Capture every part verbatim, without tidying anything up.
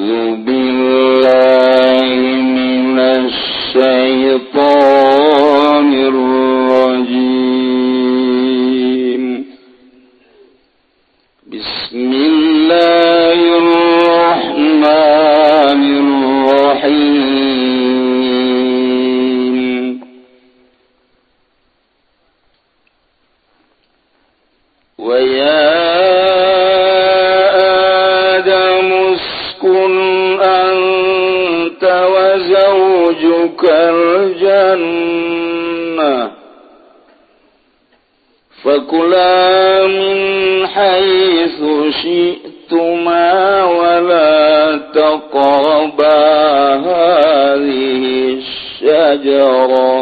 فكلا من حيث شئتما ولا تقربا هذه الشجرة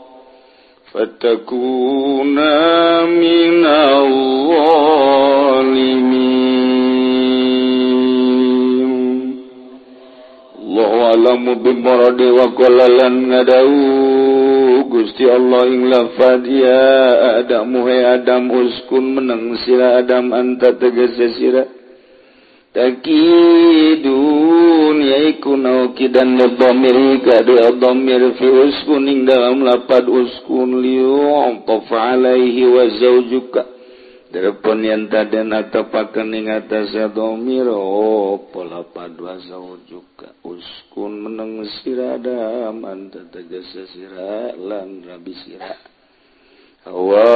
فتكونا من الظالمين. Allahu a'lamu bimuradi wa qala lan ngadau Gusti Allah ing lafad ya Adam hai Adam uskun menang sira Adam anta tegese sira takidun yaiku naukidan dhamir kadu dhamir fi uskun ing dalam lafad uskun liu tafa alaihi wa zawjuka darapun yen taden atapakeun ing atas dhamir apa lafad wa zawjuka uskun menang sira Adam anta tegese sira lan rabi sira hawa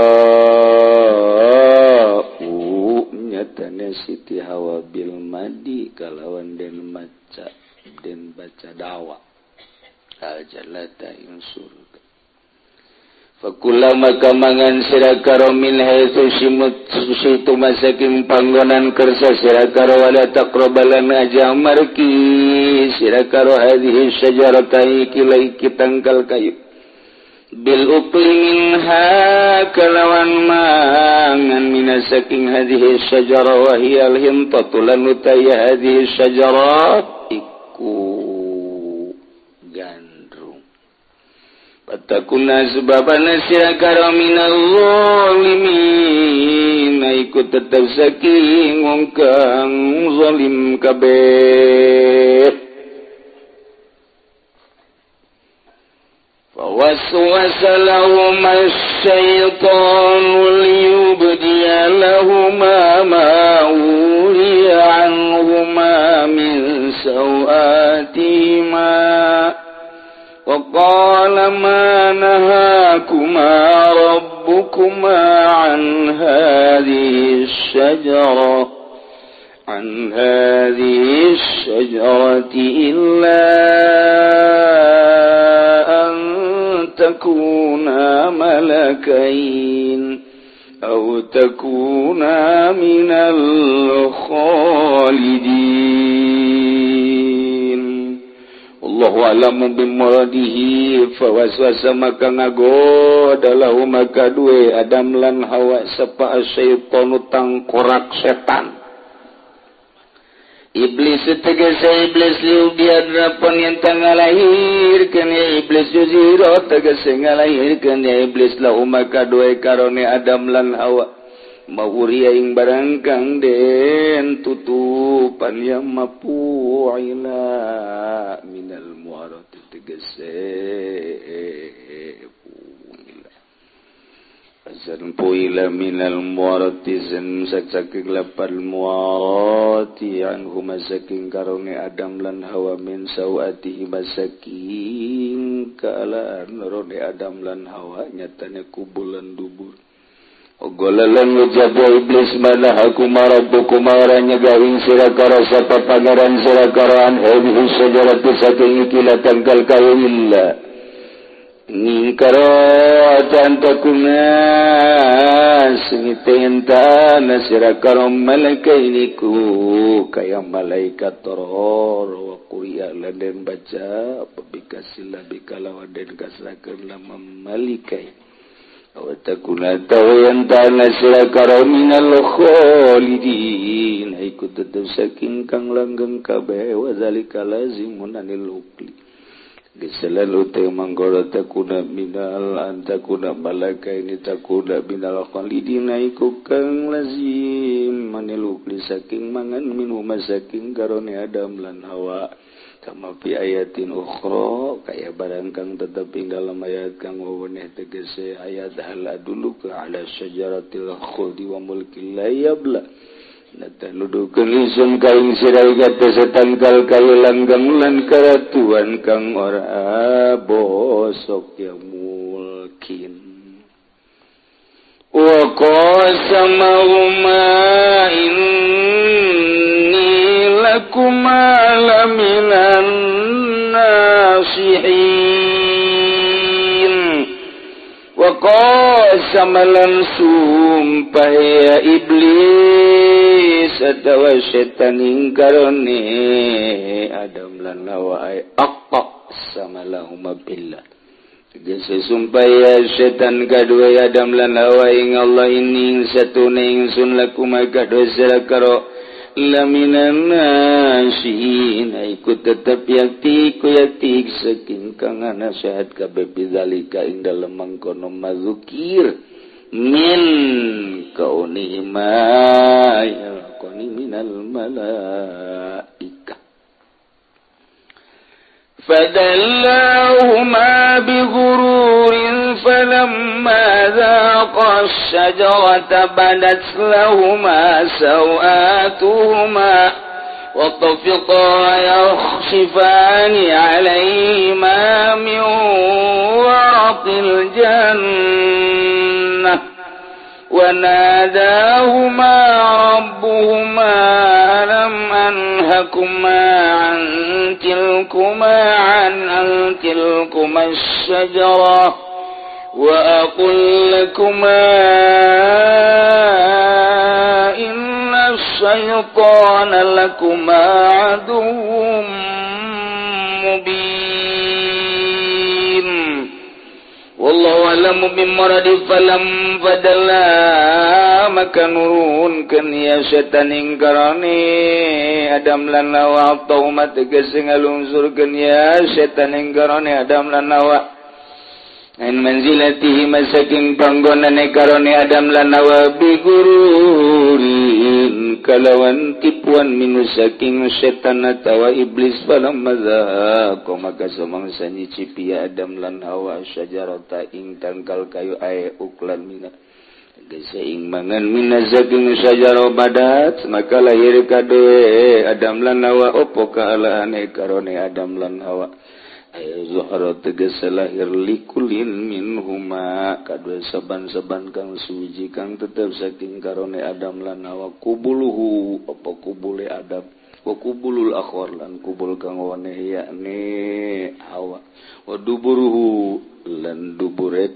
u nyatane Siti Hawa bil madi kalawan den maca den baca dawa al jannata ing surga fakula maka mangan sira karo min haitsu situ masaking panggonan kersa sira karo wala taqrabalan aja marki sira karo hadhihi syajarata kilai kitangkal kayu bil ukli minha kalawan mangan minasaking hadhihi syajarah wa hiya al hintatu lan utaya hadhihi syajarah iku Patakuna sebabana sira karo minal zalimin iku tetep saking wong kang zalim kabeh. Fawaswasa lahum asy-syaitanu liyubdiya lahuma ma wuriya anhuma min sawatihima وقال ما نهاكما ربكما عن هذه الشجرة عن هذه الشجرة إلا أن تكونا ملكين أو تكونا من الخالدين. Allahu a'lamu bimuradihi fawaswasa maka ngagoda lahu maka due Adam lan Hawa sapa asyaitonu tangkorak setan iblis tegese iblis liu biar rapon yang tangalahirkeun ya iblis juziro tegese ngalahirkeun ya iblis lahu maka due karone Adam lan Hawa mawuriya ing barang kang den tutupan yang mapu'ila minal muarati tegese puila azan puila minal muarati zan saking lapal muarati anhu masaking karone Adam lan Hawa min sawatihi masaking kalan rone Adam lan Hawa nyatane kubulan dubur Ogolalan ngujabu iblis mana aku marabuku maranya gawing sira karo sapa pangeran sira karo an hadhihi syajaratu saking ikilah tangkal kayu illa ngkaro tantakuna singitenta nasira karo malaikainiku kaya malaikat toror wa quriya laden baca pabikasilah bikalawa den kasrakeun lama malaikai Watakuna tawayan ta'ala sila karo minal khalidin Haiku tetap saking kang langgeng kabeh Wazalika lazimun anil ukli Geselan utai manggoro takuna minal antakuna malaka ini takuna minal khalidina iku kang lazim maneluk li saking mangan minhu masaking karone Adam lan Hawa kama fi ayatin ukhra kaya barang kang tetep ing dalam ayat kang weweneh tegese ayat hal adulu ka ala syajaratil khuldi wa mulkil la yabla nata nudukeun lisun kaing sirai kata setangkal kayu langgam lan karatuan kang ora bosok ya mulkin wa qasamahuma inni lakuma laminan nasihin wa qasama lan sumpah ya iblis atawa setan ingkarone Adam lan Hawa ay aqaq sama lahuma billah tegese sumpah ya setan kadua Adam lan Hawa ing Allah ini satune ingsun lakuma kadua sira karo laminan nasihin iku tetep yakti ku yakti saking kang nasihat kabeh bidzalika ing dalem mangkono mazukir min kaunihima yalqani minal malaika fadallahuma bighururin falamma dhaqa ash-shajarata badat lahuma sawatuhuma وطفقا يخصفان عليهما من ورق الجنة وناداهما ربهما ألم أنهكما عن تلكما عن عن تلكما الشجرة وأقل لكما إن الشيطان لكما عدو مبين والله أعلم بمراد فلم فدلا maka nurunkeun ya setan ing karone Adam lan Hawa tauma tegese ngalungsurkeun ya setan ing karone Adam lan Hawa ain manzilatihi masaking panggonane karone Adam lan Hawa bigururin kalawan tipuan minu saking setan atawa iblis falam madza maka samangsa nyicipi Adam lan Hawa syajarata ing tangkal kayu ae uklan mina gese ing mangan mina saking syajara badat maka lahir kadoe Adam lan Hawa opo kaalaane karone Adam lan Hawa ayo zuhara tegese lahir likulin minhuma kadua saban-saban kang suci kang tetep saking karone Adam lan Hawa kubuluhu apa kubule Adam wa kubulul akhir lan kubul kang weneh yakni Hawa wa duburuhu lan dubure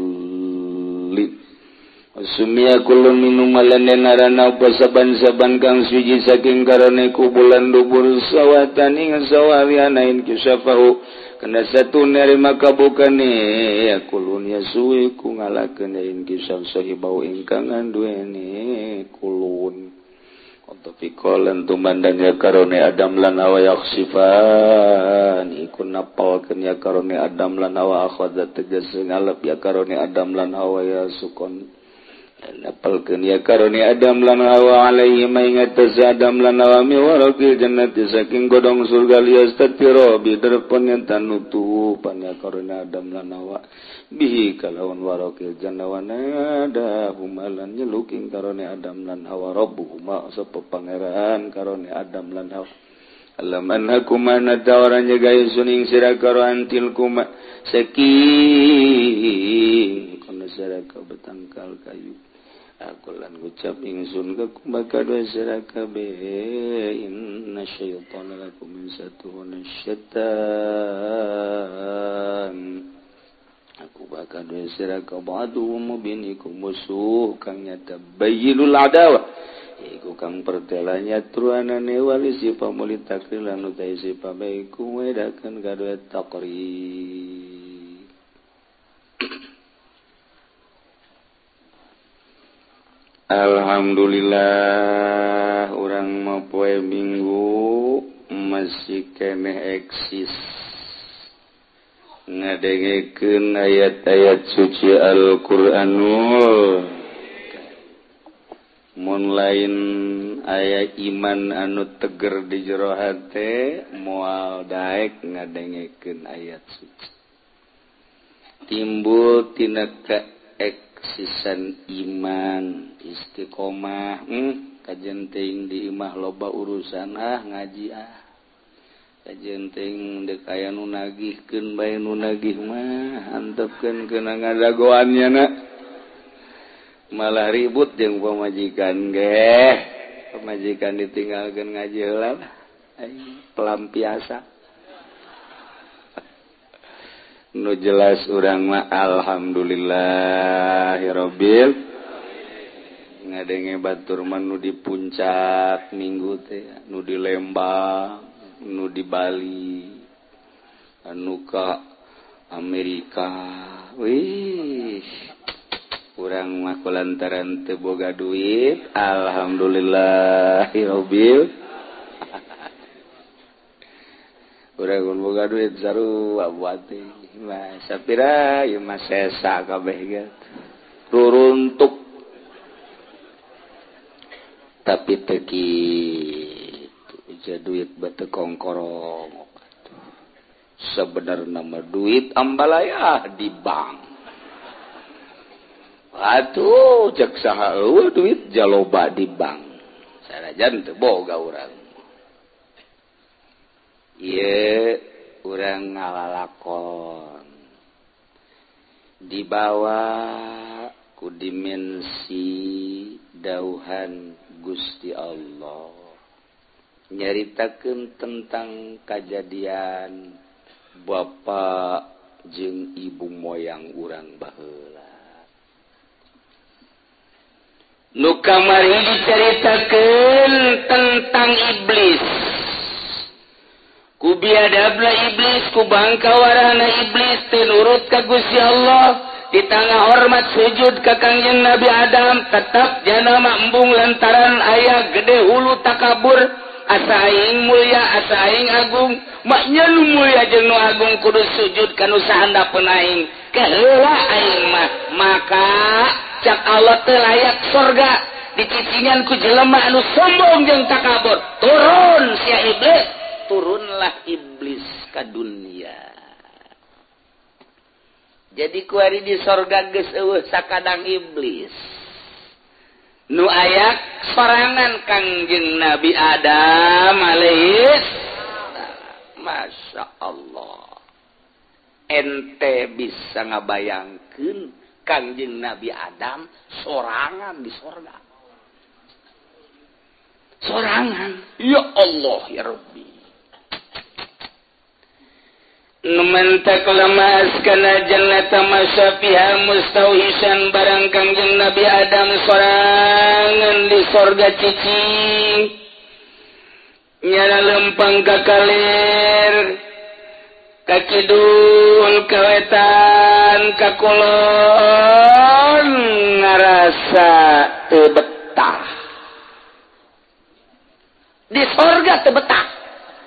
kulli sumia kulun minum lan narana apa saban-saban kang suci saking karone kubulan dubur sawatan ing sawarianain kisafahu kana satu nerima kabukane ya kulun yasui ku ngalakeun ing kisah sahibau ingkang anduene kulun untuk pikolan tumandan ya karone Adam lan Hawa yaksifan iku napalkeun ya karone Adam lan Hawa akhadha tegese ngalap ya karone Adam lan Hawa ya sukon napalkeun ya karone Adam lan Hawa alaihi maingatas Adam lan Hawa mi waraqil jannati saking godong surga liyastatiro bidarpon yang tanutu panya karone Adam lan Hawa bihi kalawan waraqil jannah ada humalan nyeluking karone Adam lan Hawa rabbuhuma sapa pangeran karone Adam lan Hawa alam anhakuma nadawaranya gaya suning sira karo antil kuma saking kono sira ka betangkal kayu aku lan ngucap ingsun ka kumaka dua sira kabeh inna syaitana lakum min satun syaitan aku bakal dua sira ka ba'du mubinikum musuh kang nyata bayyinul adawa iku kang pertelanya truanane wali si pamuli takril lan utai si pabaiku wedakan kadua takrib Alhamdulillah urang mah poe Minggu masih keneh eksis ngadengekeun ayat-ayat suci Al-Qur'anul mun lain aya iman anu teger di jero hate moal daek ngadengekeun ayat suci timbul tina kaeksisan iman istiqomah hmm, kajen teuing di imah loba urusan ah ngaji ah kajen teuing dek aya nu nagihkeun bae nu nagih mah antepkeun keuna ngadagoannya na malah ribut jeung pamajikan ge pamajikan ditinggalkeun ngaji heula pelampiasa nu jelas urang mah alhamdulillahirabbil ngadenge batur mah nu di puncak minggu teh nu di Lembang nu di Bali anu ka Amerika wih urang mah kulantaran teu boga duit alhamdulillahirabbil urang mun boga duit sarua buat teh mah sapira ieu mah sesa kabeh ge turuntuk tapi teu kitu duit batu kongkorong sebenarnya mah duit ambalaya di bank atuh cek saha eueuh duit jaloba di bank sanajan teu boga urang ieu urang ngalalakon dibawa ku dimensi dauhan Gusti Allah nyaritakeun tentang kejadian bapak jeung ibu moyang urang baheula nu kamari diceritakeun tentang iblis ku biadabna iblis ku bangkawarana iblis teu nurut ka Gusti Allah di tengah hormat sujud ka Kangjeng Nabi Adam tetap janama embung lantaran aya gede hulu takabur asa aing mulia asa aing agung maknya nu mulia jeung nu agung kudu sujud ka nu sahandapeun aing kaheula aing mah maka cak Allah teu layak surga dicicingan ku jelema anu sombong jeung takabur turun sia iblis turunlah iblis ka dunia jadi kuari di sorga geus eueuh sakadang iblis nu aya sorangan Kangjeng Nabi Adam alaihis Masya Allah ente bisa ngabayangkeun Kangjeng Nabi Adam sorangan di sorga sorangan ya Allah ya Rabbi numantak lamas kana jannata masyafiha mustauhisan barang Kangjeng Nabi Adam sorangan di sorga cicing nyana lempang ka kalir ka kidul ka wetan ka kulon ngarasa teu betah di sorga teu betah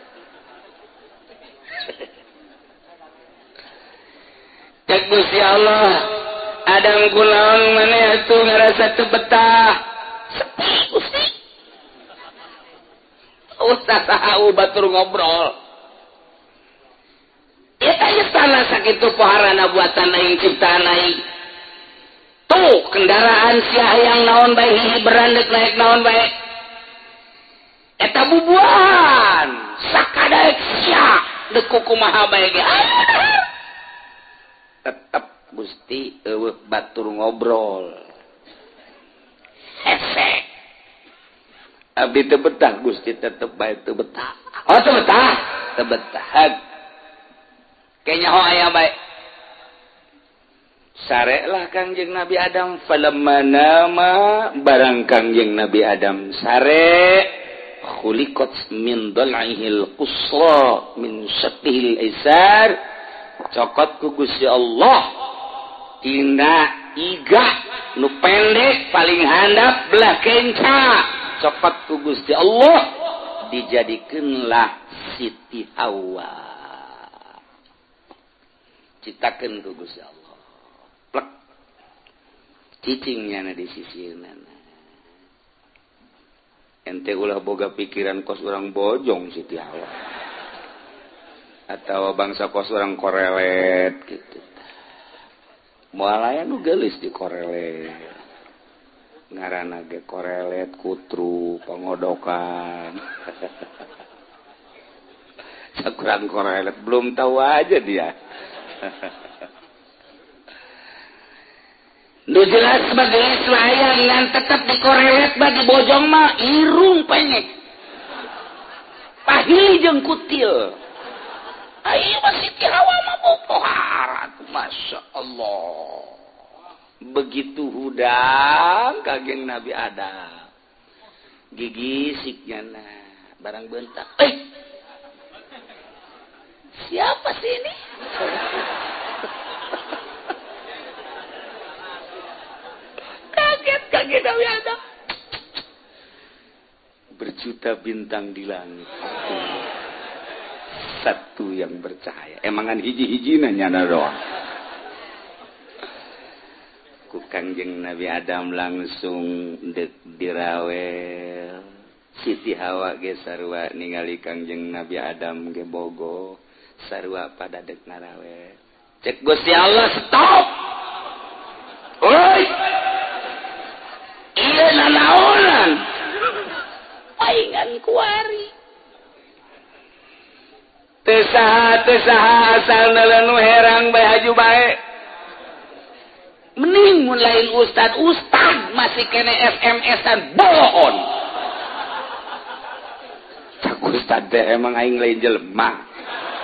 cek Gusti Allah Adam kunaon maneh atuh ngarasa teu betah sepi Gusti ustaz saha batur ngobrol eta istana sakitu paharana buatan aing ciptaan aing tuh kendaraan sia hayang naon bae hihi berandek naik naon bae eta bubuhan sakadaek sia deuk kumaha bae ge tetap Gusti eueuh batur ngobrol hese abdi teu betah Gusti tetep bae teu betah oh teu betah teu betah kenya ho aya bae sarelah Kangjeng Nabi Adam falamma nama barang Kangjeng Nabi Adam sare khuliqat min dal'ihil qusra min syaqihil aisar cokot ku Gusti Allah tina iga nu pendek paling handap belah kenca cokot ku Gusti Allah dijadikeunlah Siti Hawa citakeun ku Gusti Allah. Plek. Cicingnya na di sisirna. Ente ulah boga pikiran kos urang bojong Siti Hawa. Atau bangsa kos urang korelet gitu. Moal aya nu geulis di korelet. Ngaranna ge korelet, kutru, pengodokan. Sakurang korelet belum tahu aja dia. Nu jelas sebagai selayangan tetap di korelet bagi bojong mah irung pengek. Pahili jeung kutil. Ayo masih Siti Hawa mah bopoharat. Masya Allah. Begitu hudang kageng Nabi Adam. Gigisiknya nah. Barang bentak. Eh. Siapa sih ini? Kaget, kaget Nabi Adam. Berjuta bintang di langit. Satu yang bercahaya. Emangan hiji-hiji nyana doang. Ku Kangjeng Nabi Adam langsung dek dirawel. Siti Hawa ge sarua ningali Kangjeng Nabi Adam ge bogo. Sarua pada dek narawel. Cek Gusti Allah, stop. Oi. Ieu nanaonan. Paingan kuari. Teu saha teu saha asalna lanu herang bae haju bae. Mending mun lain ustad, ustad masih kene S M S-an bohon. Cak ustad teh emang aing lain jelema.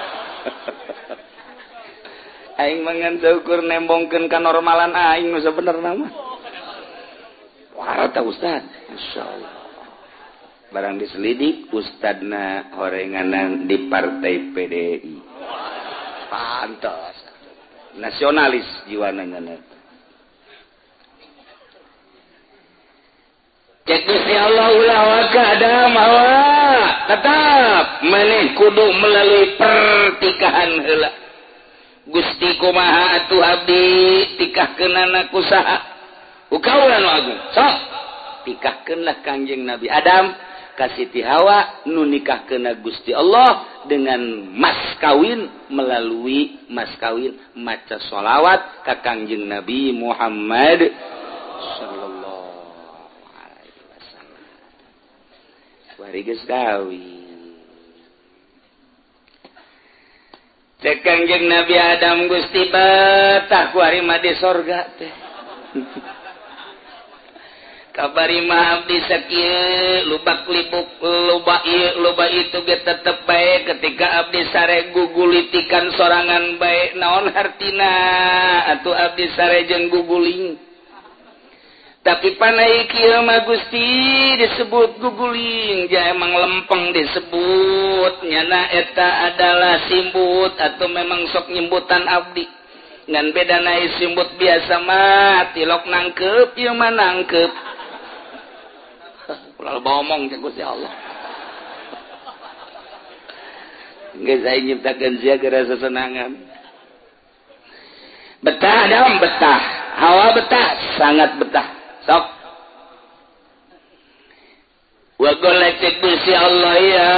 Aing mangan saukur nembongkeun kanormalan aing nu sabenerna mah. Warata ustad, masyaallah. Barang diselidik ustadna horenganan di partai P D I. Pantas. Nasionalis jiwana nyana. Cek Gusti Allah ulah waka Adam Hawa. Tetap maneh kudu melalui pertikahan heula. Gusti kumaha atuh abdi tikahkeunana kusaha? Ukaulan agung. Sok tikahkeunlah Kangjeng Nabi Adam ka Siti Hawa nu nikahkeunna Gusti Allah dengan mas kawin melalui mas kawin maca sholawat ka Kangjeng Nabi Muhammad sallallahu alaihi wasallam. Wari geus kawin. Cek Kangjeng Nabi Adam Gusti betah ku ari mah di sorga teh. Kabari mah abdi sakieu lubak libuk loba ieu loba itu ge tetep bae ketika abdi sare gugulitikan sorangan bae naon hartina atuh abdi sare jeung guguling. Tapi panai kieu mah Gusti disebut guguling, ja emang lempeng disebut nyana eta adalah simbut atau memang sok nyimbutan abdi. Ngan beda naik simbut biasa mah tilok nangkep ieu mah nangkep. Ulah ngomong cek Gusti Allah. Geus aing nyiptakeun sia ge rasa senangan. Betah Adam betah, Hawa betah, sangat betah. Sok. Wa qala Gusti Allah ya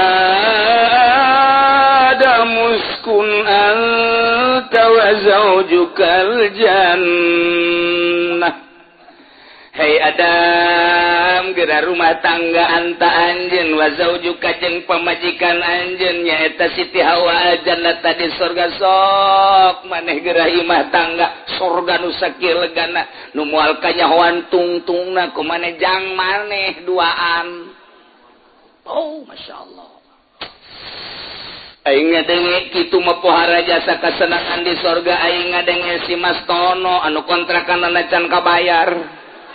Adam uskun anta wa zaujukal jannah. Hei Adam, geura rumah tangga anta anjeun wa zaujuka jeung pamajikan anjeun nyaeta Siti Hawa jannah tadi surga sok maneh geura imah tangga surga nu sakieu legana nu moal kanyahoan tungtungna ku maneh jang maneh duaan. Oh, masyaallah. Aing ngadenge kitu mah pohara jasa kasenangan di surga aing ngadenge si Mas Tono anu kontrakanna can kabayar.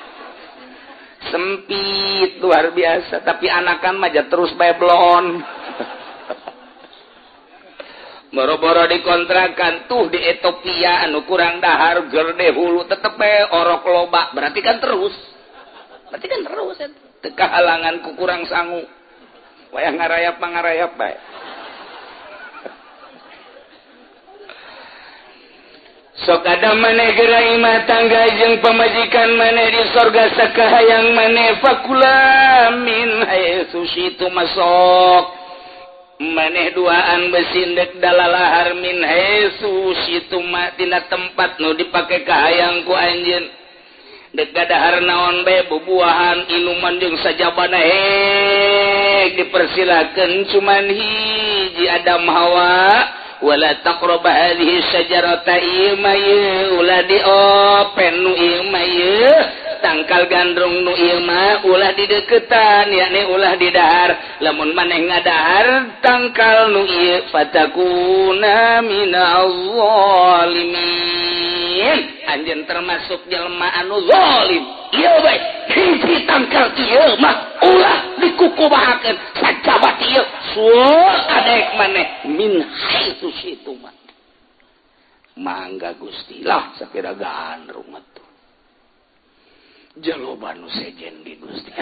Sempit luar biasa tapi anakan mah terus bae blon. Boro-boro dikontrakan tuh di Ethiopia anu kurang dahar gerde hulu tetep bae orok loba berarti kan terus. Berarti kan terus eta. Teu kahalangan ku kurang sangu. Wayah ngarayap pangarayap bae. sok ada maneh gerai mah tangga jeung pamajikan maneh di sorga sakahayang maneh fakula min haitsu syitu masok maneh duaan besindek dalalahar min haitsu syitu ma tina tempat nu dipake kahayang ku anjeun dek gadahar naon bae bubuahan inuman jeung sajabana hek dipersilakeun cuman hiji Adam Hawa wala taqraba hadhihi syajarata imaya ulah diopen nu imaya tangkal gandrung nu ieu mah ulah dideuketan yakni ulah didahar lamun maneh ngadahar tangkal nu ieu fatakuna minaz zalimin anjeun termasuk jelema anu zalim ieu bae hiji tangkal ieu mah ulah dikukubahakeun sajabat ieu suul adek maneh min haitsu syitu mah mangga Gusti lah sakira gandrung atuh jaloba nu sejen di Gusti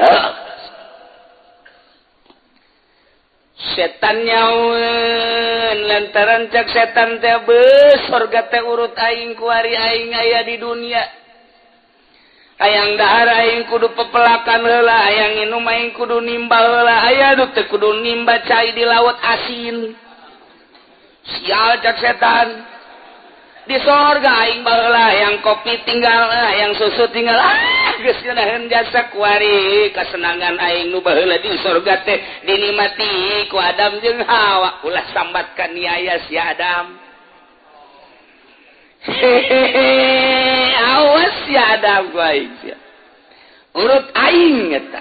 setan nyaun lantaran cak setan teh beus sorga teh urut aing ku ari aing aya di dunia hayang dahar aing kudu pepelakan heula hayang inum aing kudu nimbal heula aya nu teu kudu nimba cai di laut asin sial cak setan di sorga aing baheula hayang kopi tinggal hayang susu tinggal ah geus ngeunaheun jasa ku ari kasenangan aing nu baheula di sorga teh dinikmati ku Adam jeung Hawa ulah sambat ka niaya si Adam hehehe awas si Adam ku aing sia urut aing eta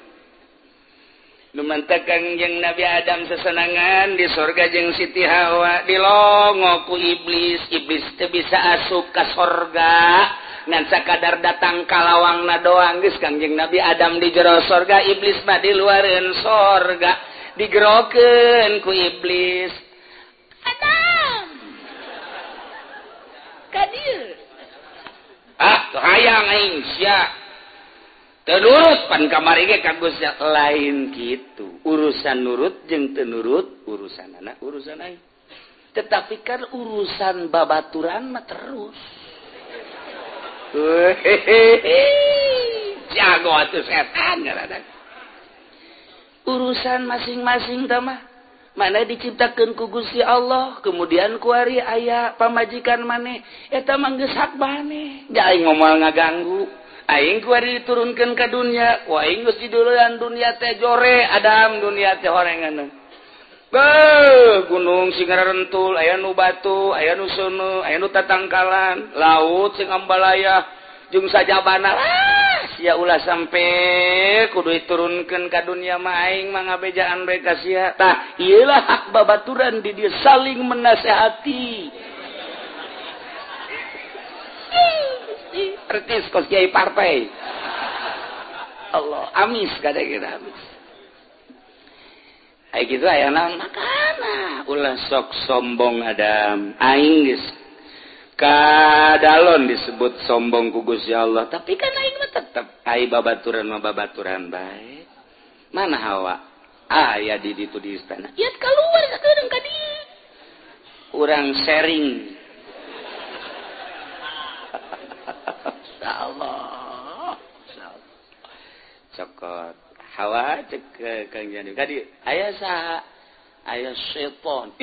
lumantakan jeung Nabi Adam sesenangan di sorga jeung Siti Hawa dilongo ku iblis iblis teu bisa asup ka sorga ngan sakadar datang kalawangna doang geus kangjeng Nabi Adam di jero sorga iblis mah di luareun sorga digerokeun ku iblis Adam ka dieu ah hayang aing sia tenurut pan kamari ge kagus lain gitu urusan nurut jeung teu nurut urusan anak urusan aing tetapi kan urusan babaturan mah terus jago atuh setan ngaranna urusan masing-masing tah mah mana diciptakeun ku Gusti Allah kemudian ku ari aya pamajikan maneh eta mah geus hak maneh da aing moal ngaganggu aing ku ari diturunkeun ka dunya ku aing geus dideulean dunia teh jore Adam dunia teh horengan beuh gunung sing ngarentul aya nu batu aya nu seuneu aya nu tatangkalan laut sing ambalaya jeung sajabana ah sia ulah sampe kudu diturunkeun ka dunia mah aing mah ngabejaan bae ka sia tah ieu lah hak babaturan di dieu saling menasehati artis kos kiai partai Allah amis kada kira amis ai kitu aya naon makana ulah sok sombong Adam aing geus kadalon disebut sombong ku Gusti Allah tapi kan aing mah tetep ai babaturan mah babaturan bae mana Hawa aya di ditu di istana ieu keluar sakedeung ka dieu urang sharing Allah cokot Hawa cek ke Kang Jani kadi aya saha aya setan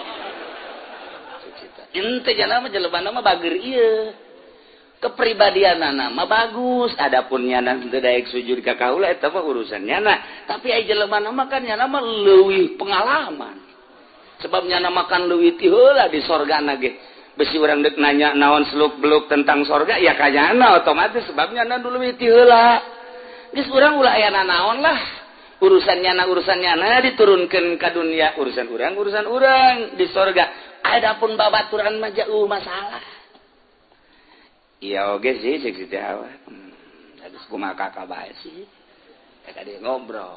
ente jana mah jelebana mah bager ieu kepribadianana mah bagus adapun nyana teu daek sujud ka kaula eta mah urusan nyana tapi aya jelebana mah kan nyana mah leuwih pengalaman sebab nyana makan leuwih ti heula di sorgana ge besi urang deuk nanya naon seluk-beluk tentang sorga ya kanyana otomatis sebabnya nyana dulu leuwih ti heula geus urang ulah aya naon lah urusan nyana urusan nyana diturunkeun ka dunia urusan urang urusan urang di sorga adapun babaturan mah jauh masalah iya oge sih cek Siti Hawa hmm, geus kumaha kakak bae sih ka dia ngobrol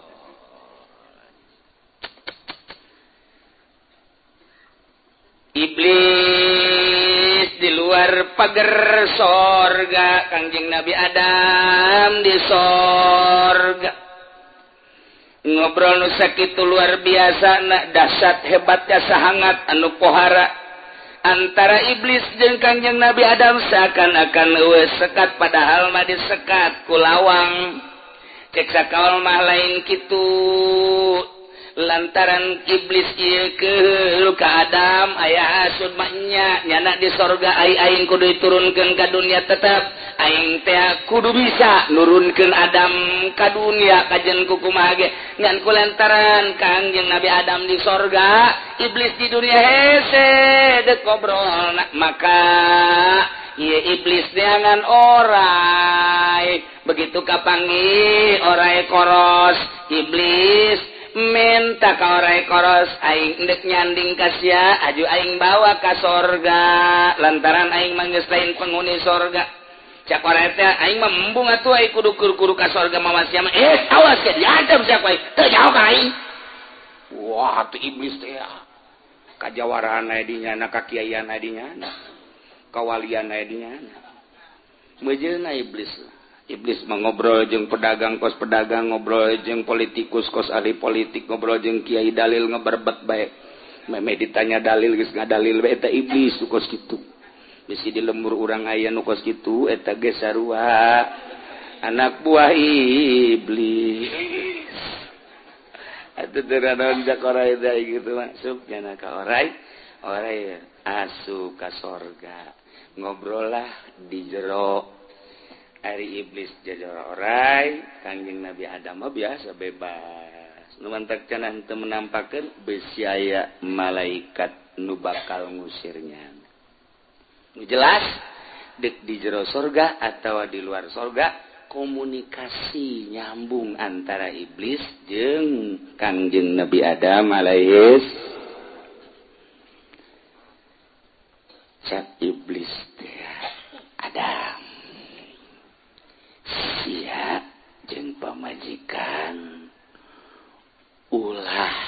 iblis di luar pagar sorga Kangjeng Nabi Adam di sorga ngobrol nu sakitu luar biasa na dahsyat hebatnya sahangat anu pohara antara iblis jeung Kangjeng Nabi Adam seakan-akan eueus sekat padahal mah disekat ku lawang cek sakaol mah lain kitu lantaran iblis ieu keul ka Adam aya hasud mah nya nyana di sorga ai aing kudu diturunkeun ka dunia tetep aing teh kudu bisa nurunkeun Adam ka dunia kajen ku kumaha ge ngan kulantaran Kangjeng Nabi Adam di sorga iblis di dunia hese dek ngobrol maka ieu iblis neangan orai begitu kapanggih orai koros iblis minta ka orai koros aing ndek nyanding ka sia aju aing bawa ka sorga lantaran aing mah geus lain penghuni sorga cak orai teh aing mah embung atuh aing kudu kudu ka sorga mah sia mah eh awas ke diadem sia ku aing teu jauh ka aing wah tu iblis teh kajawarahan aya di nyana kakiaian aya di nyana kawalian aya di nyana meujeuna iblis iblis mengobrol jeung pedagang kos pedagang ngobrol jeung politikus kos ahli politik ngobrol jeung kiai dalil ngeberbet bae meme ditanya dalil geus ngadalil bae eta iblis nu kos kitu bisi di lembur urang aya nu kos kitu eta ge sarua anak buah iblis atuh teu naon jak orai teh kitu masuk nya ka orai orai asup ka sorga ngobrol lah di jero ari iblis jajar orai Kangjeng Nabi Adam mah biasa bebas nu mantak cenah teu menampakeun besi aya malaikat nu bakal ngusirnya nu jelas dek di jero surga atawa di luar surga komunikasi nyambung antara iblis jeung Kangjeng Nabi Adam alaihis cak iblis teh Adam sia jeung pamajikan ulah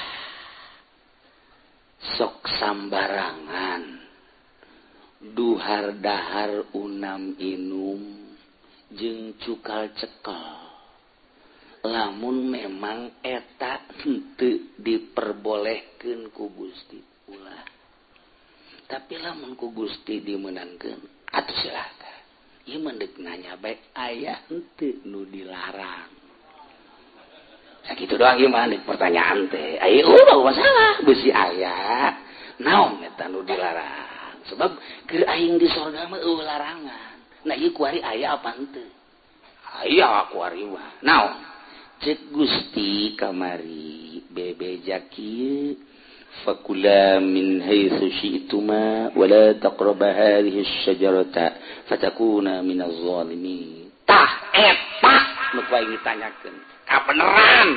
sok sambarangan duhar dahar unam inum jeung cukal cekel lamun memang eta henteu diperbolehkeun ku Gusti ulah tapi lamun ku Gusti dimeunangkeun atuh silakan ieu mendek nanya baik aya henteu nu dilarang sakitu doang ieu mah pertanyaan teh aya ulah masalah beusi aya naon eta nu dilarang sebab keur aing di sorga mah eueuh larangan nah ieu kuari aya apa henteu aya kuari mah naon cek Gusti kamari bebejak ieu fakula min haitsu syi'tuma wa la taqraba hadhihi asy-syajarata fatakuna minaz zalimin tah eta nu kuing ditanyakeun kabeneran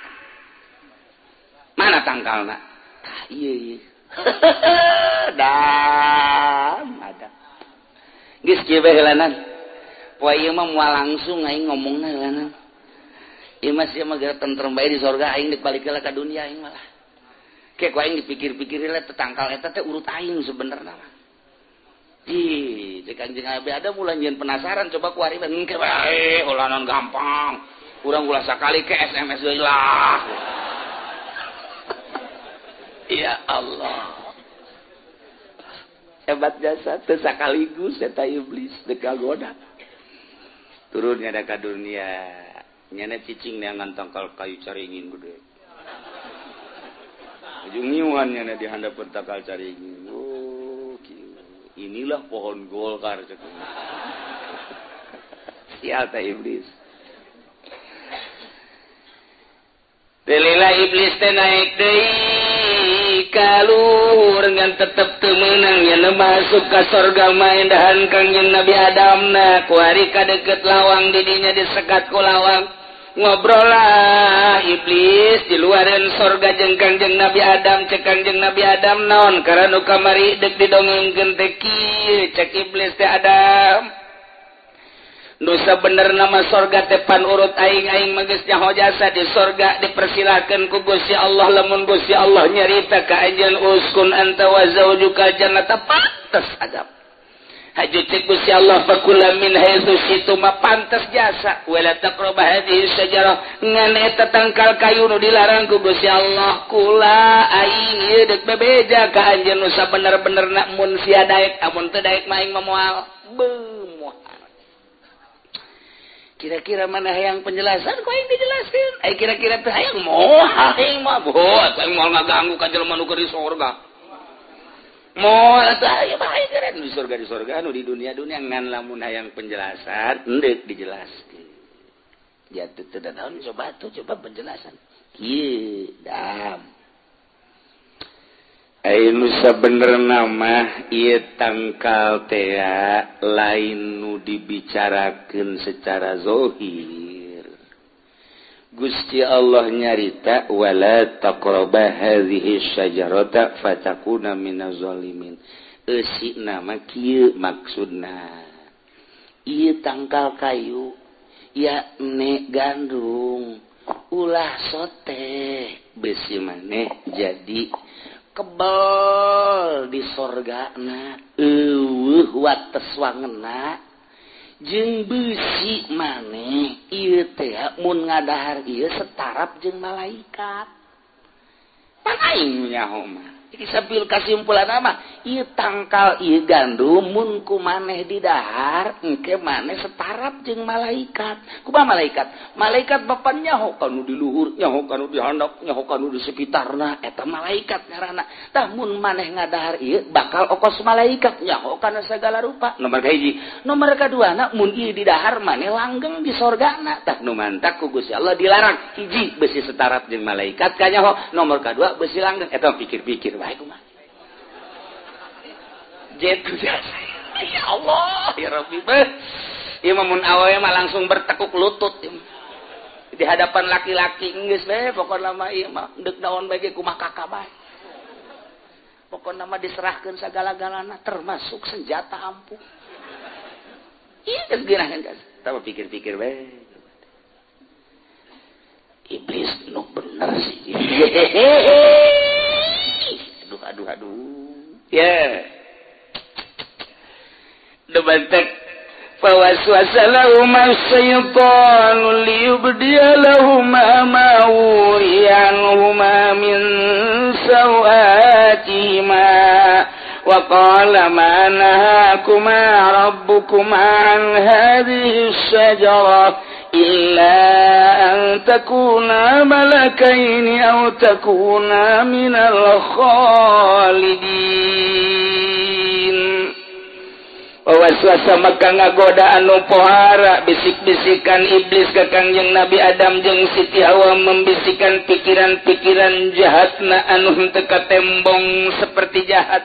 mana tangkalna tah ieu ieu dan ada geus kieu bae heulanan poe ieu mah moal langsung aing ngomongna heulanan ieu mah sia mah geura tentrem bae di sorga aing dek balik ka dunia aing malah kayak aing dipikir-pikir lah tetangkal eta teh urut aing sebenarnya mah. Ih, cek Kangjeng Nabi Adam ulah nyeun penasaran coba ku ari engke bae ulah non gampang. Urang ulah sakali ke S M S deui lah. Ya Allah. Hebat jasa teu sakaligus eta iblis teu kagoda. Turun nya ka dunia. Nyana cicing neangan tangkal kayu caringin gede. Ujung nyiuannya na di handap takal cari ini. Oh, inilah pohon golkar cek. Sial ta iblis. Delila iblis teh naik deui ka luhur ngan tetep teu meunang nya masuk ka surga main dahan Kangjeng Nabi Adam na ku ari kadeukeut lawang di dinya disekat ku lawang. Ngobrol lah iblis di luaran sorga jeung Kangjeng Nabi Adam cek Kangjeng Nabi Adam naon karena kamari dek didongengkeun teh kieu cek iblis teh Adam nu sabener nama sorga teh pan urut aing aing mah geus nyaho jasa di sorga dipersilakeun ku Gusti Allah lamun Gusti Allah nyarita ka anjeun uskun anta wa zaujuka jannata pantes adab haju cek Gusti Allah fakula min haitsu situ ma pantas jasa wala taqrabu hadhihi syajarah ngan eta tangkal kayu nu dilarang ku Gusti Allah kula aing ieu deuk bebeja ka anjeun nu sabener-benerna mun sia daek amun teu daek mah aing moal bemoal. Kira-kira mana hayang penjelasan ku aing dijelaskeun ai kira-kira teu hayang moal aing mah boh aing moal ngaganggu ka jelema nu keur di surga. Moal atuh aya bae keren di surga di surga anu di dunia-dunia ngan lamun hayang penjelasan endek dijelaskeun. Ya teu teu daun coba tuh coba penjelasan. Kieu dam. Ai nu sabenerna mah ieu tangkal teh lain nu dibicarakeun secara zahir. Gusti Allah nyarita wala taqraba hadhihi syajarata fatakuna minaz zalimin. Eusi nama kieu maksudna. Ieu tangkal kayu ya ne gandung ulah sote besi maneh jadi kebal di sorgana eueuh wates wangeuna jeung beusi maneh ieu teh mun ngadahar ieu setarap jeung malaikat. Pan aing nyaho mah. Iki sabil kasimpulanna mah ieu tangkal ieu gandum mun ku maneh didahar engke maneh setarap jeung malaikat. Kumaha malaikat? Malaikat bapa nyaho kanu di luhur, nyaho kanu di handap, nyaho kanu di sekitarna eta malaikat ngaranna. Tah mun maneh ngadahar ieu bakal okos malaikat nyaho kana sagala rupa. Nomor kahiji, nomor kaduana mun ieu didahar maneh langgeng di sorgana. Tah nu mantak ku Gusti Allah dilarang hiji besi setarap jeung malaikat ka nyaho, nomor kadua besi langgeng eta pikir-pikir bae kumaha. Jetu jasa. Ya Allah, ya Rabbi beh. Ieu mah mun awewe mah langsung bertekuk lutut di hadapan laki-laki geus we pokona mah ieu mah deuk naon bae ge kumaha kakak bae. Pokona mah diserahkeun sagala-galana termasuk senjata ampuh. Ieu geus girahan geus. Tapi pikir-pikir bae. Iblis nu bener sih. Aduh aduh aduh. Ya. Yeah. Debantek fawaswasa lahum asy-syaitanu liyubdiya lahum ma wuriyanhuma min sawatihima wa qala ma nahakuma rabbukuma an hadhihi asy-syajarah illa an takuna malakaini aw takuna minal khalidin. Waswasa maka ngagoda anu pohara bisik-bisikan iblis ka Kangjeng Nabi Adam jeung Siti Hawa membisikan pikiran-pikiran jahatna anu henteu katembong seperti jahat.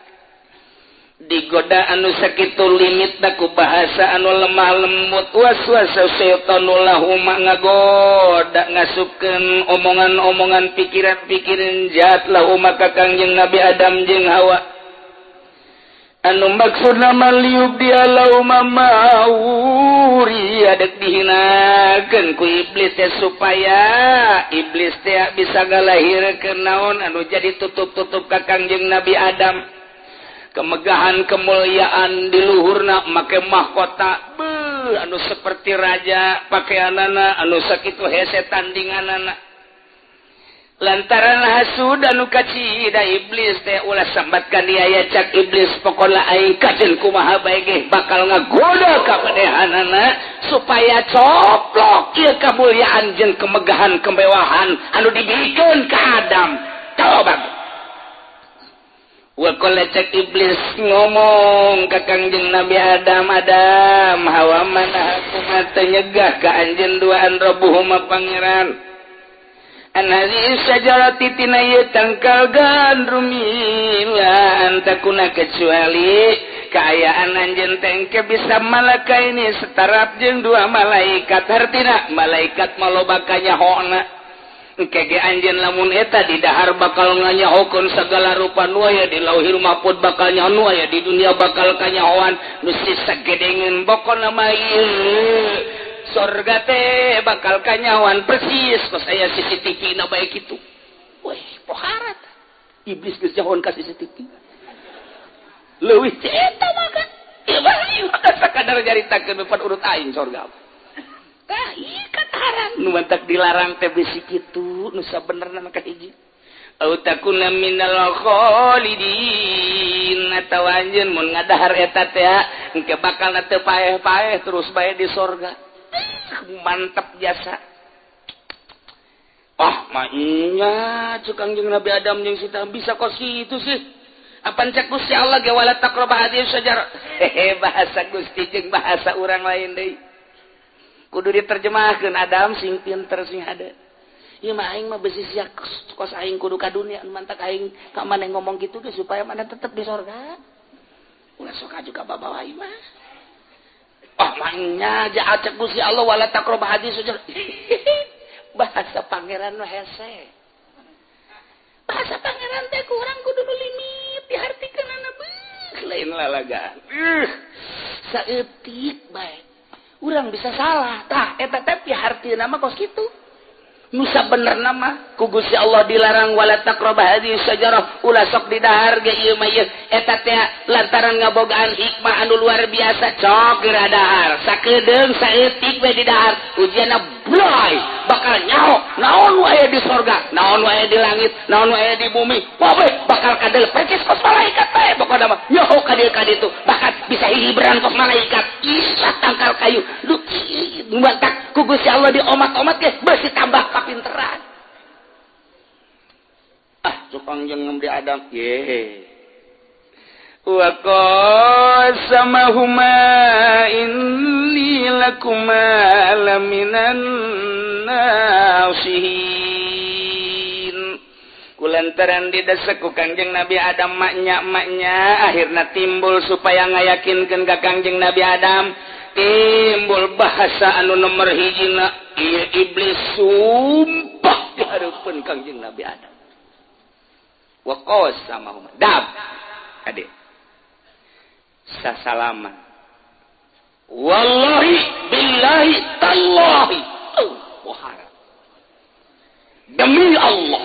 Digoda anu sakitu limitna ku bahasa anu lemah lembut. Waswasa syaitanu lahuma ngagoda ngasupkeun omongan-omongan pikiran-pikiran jahat lahuma ka Kangjeng Nabi Adam jeung Hawa. Anu maksudna maliub dia lauma mauri adek dihinakeun ku iblis teh supaya iblis teh bisa galahirkeun naon anu jadi tutup-tutup ka Kangjeng Nabi Adam kemegahan kemuliaan di luhurna make mahkota beuh anu seperti raja pakaianana anu sakitu hese tandinganana. Lantaran hasud anu kacida iblis teh ulah sambatkan dia aya cak iblis pokona aing kajen kumaha bae ge bakal ngagoda ka padehanana supaya coplok ieu kamuliaan jeung kemegahan kemewahan anu dibikeun ka Adam. Coba wa qala cak iblis ngomong ka Kangjeng Nabi Adam Adam hawa manahakum teh nyegah ka anjeun duaan rabbuhuma pangeran anali syajarati tina ieu tangkal gandum ila antakuna kecuali kaayaan anjeun teh engke bisa malaka ini setarap jeung dua malaikat hartina malaikat maloba kanyahona engke ge anjeun lamun eta di dahar bakal nganyahokeun sagala rupa nu aya di lauhil mahfuz bakal nyaho nu aya di dunia bakal kanyahoan nu sagedengeun pokona mah ieu sorga teh bakal kanyawan persis kos aya C C T V na bae kitu. Weh, poharat. Iblis geus jahon ka C C T V. Leuwih eta mah kan. Ieu sakadar jaritakeun depan urut aing sorga. Tah ieu kataran nu mantak dilarang teh bisi kitu nu sabenerna mah kahiji. Au takuna minal khalidin atawa anjeun mun ngadahar eta teh engke bakal teu paeh-paeh terus bae di sorga. Mantap jasa. Ah, mainnya cek Kangjeng Nabi Adam jeung Sita bisa kos kitu sih. Apan cek Gusti Allah ge wala taqrabah hadhihi syajarah. Hehe bahasa Gusti jeung bahasa urang lain deui. Kudu diterjemahkeun Adam sing pinter sing hade. Ieu mah aing mah besi sia kos aing kudu ka dunia mantak aing ka maneh ngomong kitu ge supaya maneh tetep di sorga. Ulah sok aju ka babawa ieu mah. Ah, mainnya ja cek Gusti Allah wala taqrabah hadhihi syajarah. Bahasa pangeran mah hese. Bahasa pangeran teh kurang kudu nu limit dihartikeunana beuk lain lalagaan. Uh, saeutik bae. Urang bisa salah. Tah eta teh pihartieuna mah kos kitu. Nu sabenerna mah ku Gusti Allah dilarang wala taqrabah hadhihi syajarah ulah sok didahar ge ieu mah ieu eta teh lantaran ngabogaan hikmah anu luar biasa cok geura dahar sakedeung saeutik we didahar ujianna bloy bakal nyaho naon wae di sorga naon wae di langit naon wae di bumi poe bakal kadel percis kos malaikat bae pokona mah nyaho ka dieu ka ditu bakal bisa hibran kos malaikat isa tangkal kayu lu mantak ku Gusti Allah diomat-omat ge beusi tambah kapinteran. Ah, tukang jeung Nabi Adam ye. Wa qasamahuma inni lakuma laminan nasihin. Kulantaran didesek ku Kangjeng Nabi Adam maknya-maknya akhirna timbul supaya ngayakinkeun ka Kangjeng Nabi Adam timbul bahasa anu nomor hijina ieu iblis sumpah di hareupeun Kangjeng Nabi Adam. Wa qasamahuma dab ade sasalaman wallahi billahi tallahi oh wahara demi Allah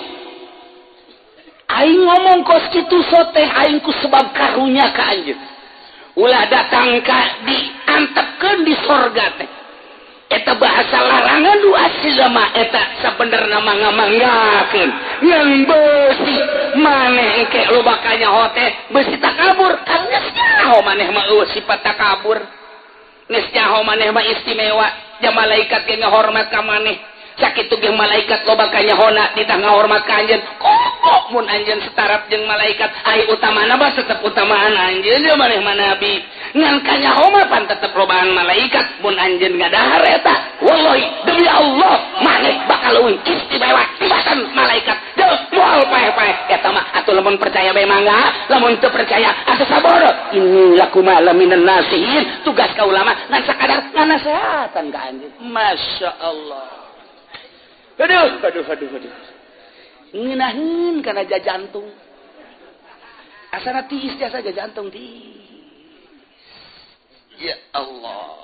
aing ngomong kos kitu soteh aing ku sebab karunya ka anjeun ulah datang ka diantepkeun di sorga teh eta bahasa larangan nu asli mah eta sabenerna mah ngamanggakeun yang beusi maneh engke loba kanyaho teh beusi takabur kan geus nyaho maneh mah eueuh sifat takabur geus nyaho maneh mah istimewa ja malaikat ge ngahormat ka maneh sakitu ge malaikat loba kanyahona ditah ngahormat ka anjeun kok mun anjeun setarap jeung malaikat ai utamana mah tetep utamaan anjeun ya maneh mah nabi ngan kanyaho mah pan tetep lobaan malaikat mun anjeun ngadahar eta wallahi demi Allah maneh bakal leuwih istimewa tibatan malaikat deus moal paeh-paeh eta mah atuh lamun percaya bae mangga lamun teu percaya atuh saboro inni lakum laminan nasihin tugas ka ulama ngan sakadar nganasehatan ka anjeun masyaallah. Aduh, aduh, aduh, aduh. Ngeunaheun kana jantung. Asana tiis jasa jantung tiis. Ya Allah.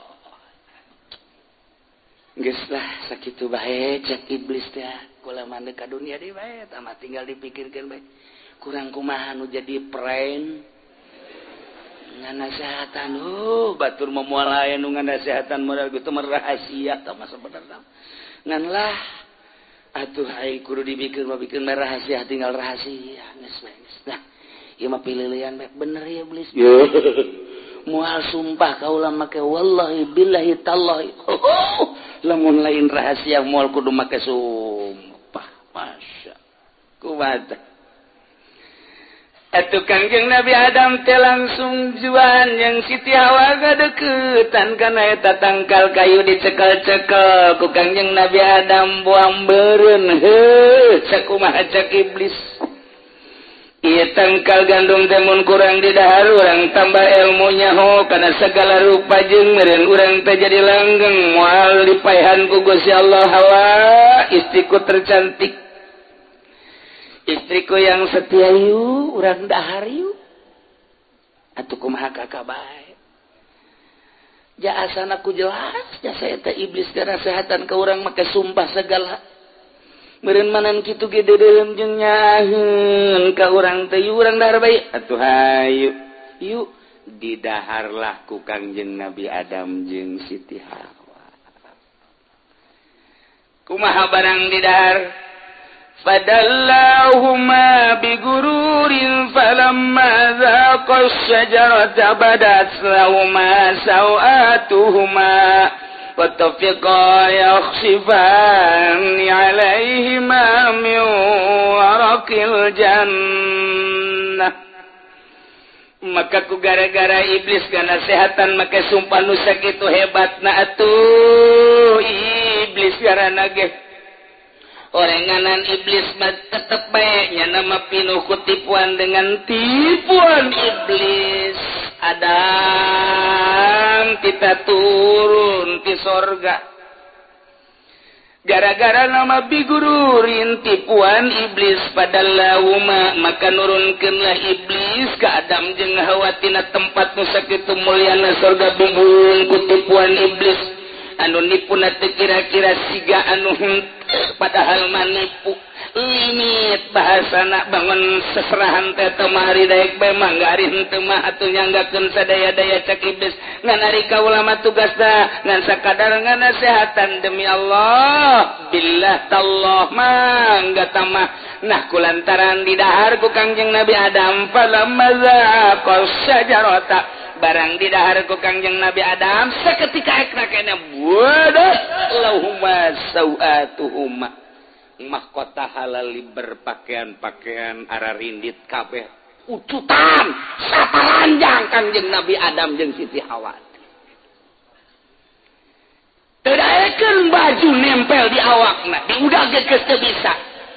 Geus lah sakitu bae cek iblis teh. Kula mande ka dunia deui bae, tah tinggal dipikirkeun bae. Kurang kumaha nu jadi prank. Nganasehatan oh batur momoal aya nu nganasehatan modal kitu mah rahasia tah mah sabenerna. Ngan lah atuh aing kudu dibikeun mah bikeun mah rahasia tinggal rahasia geus bae geus nah ieu mah pililian bae bener ya iblis moal sumpah ka ulah make wallahi billahi tallahi lamun lain rahasia moal kudu make sumpah masya kumaha atuh Kangjeng Nabi Adam teh langsung juan yang Siti Hawa gadeuketan kana eta tangkal kayu dicekel-cekel ku Kangjeng Nabi Adam buang beureun heuh sakumaha cek iblis ieu tangkal gandum teh mun kurang didahar urang tambah ilmunya ho kana segala rupa jeung meureun urang teh jadi langgeng moal dipaehan ku Gusti Allah Hawa istriku tercantik istriku yang setia yu urang dahar yu atuh kumaha kakak bae jaasana ku jelas jasa eta iblis karasehatan ka urang make sumpah segala meureun manan kitu ge dedeum jeung nyaheun ka urang teh yu urang dahar bae atuh hayu yu didaharlah ku Kangjeng Nabi Adam jeung Siti Hawa. Kumaha barang didahar? Fadallahuma bigururin falamma zaqas syajarata badat lahuma sawatuhuma wattafiqa yakhsifani alaihima min waraqil jannah. Maka ku gara-gara iblis kana sehatan make sumpah nu sakitu hebatna atuh iblis garana ge. Orenganan iblis mah tetep bae nya nama pinuh ku tipuan dengan tipuan iblis. Adam kita turun ti sorga gara-gara nama bigururin tipuan iblis padallahuma maka nurunkeunlah iblis ka Adam jeung Hawa tina tempat nu sakitu mulyana sorga bigururin ku tipuan iblis anu nipuna teu kira-kira siga anu padahal manipu limit bahasana bangun seserahan teh temari daek bae manggarin teu mah atuh nyanggakeun sadaya-daya cak iblis ngan ari kaula mah tugasna ngan sakadar nganasehatan demi Allah billah tallah mangga tamah nah kulantaran didahar ku Kangjeng Nabi Adam falamma zaqas syajarata barang didahar ku Kangjeng Nabi Adam saketika ekna kana buadat lahuma sawatuhuma mahkota halali berpakaian-pakaian ararindit kabeh ucutan satalanjang Kangjeng Nabi Adam jeung Siti Hawa teu daekeun baju nempel di awakna diudag geus teu bisa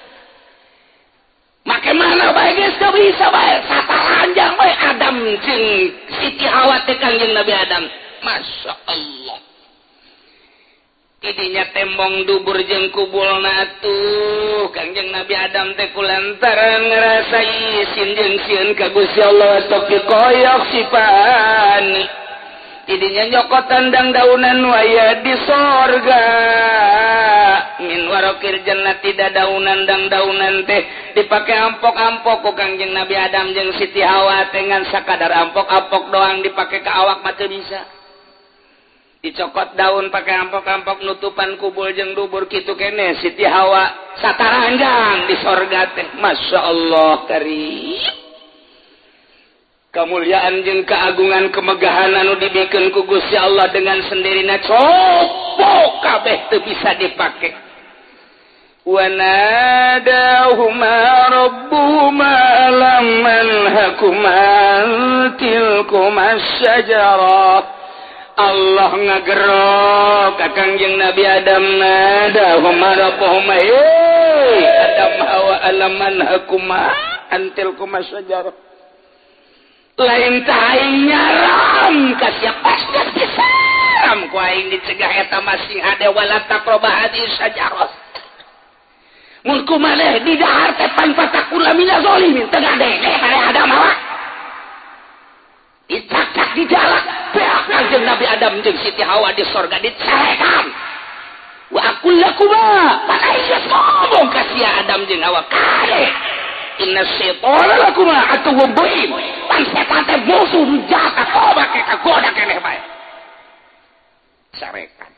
make mana bae geus teu bisa bae satalanjang bae Adam jeung Siti Hawa teh Kangjeng Nabi Adam masya Allah idinya tembong dubur jeung kubulna atuh Kangjeng Nabi Adam teh kulantaran ngarasa isin jeung sieun ka Gusti Allah taufiqa yakhsifani idinya nyokotan dang daunan waya di sorga min waraqil jannati dadaunan dang daunan teh dipake ampok-ampok ku Kangjeng Nabi Adam jeung Siti Hawa teh ngan sakadar ampok-ampok doang dipake ka awak mah teu bisa dicokot daun pakai ampok-ampok nutupan kubul jeung dubur kitu kene Siti Hawa sataranjang di sorga teh masya Allah karim kemuliaan jeung keagungan kemegahan anu dibikeun ku Gusti Allah dengan sendirina copok kabeh teu bisa dipake wa nadahuma rabbuhuma lam manhakuma tilkuma syajarah Allah ngagerok ka Kangjeng Nabi Adam nadahuma rabbuhuma hey Adam Hawa alaman hakuma antil kuma syajarah lain taing nyaram ka sia pasdas pisan ku aing dicegah eta masih hade wala taqraba hadis syajarah mun kumaneh di dahar teh pan patakula mina zalimin teu gade pada Adam Hawa dicacak di jalan beak Kangjeng Nabi Adam jeung Siti Hawa di sorga dicerekan wa aqul lakuma mana geus ngomong ka sia Adam jeung Hawa kade inna syaitana lakuma atuwwum mubin pan setan teh musuh jahat coba ke kagoda keneh bae cerekan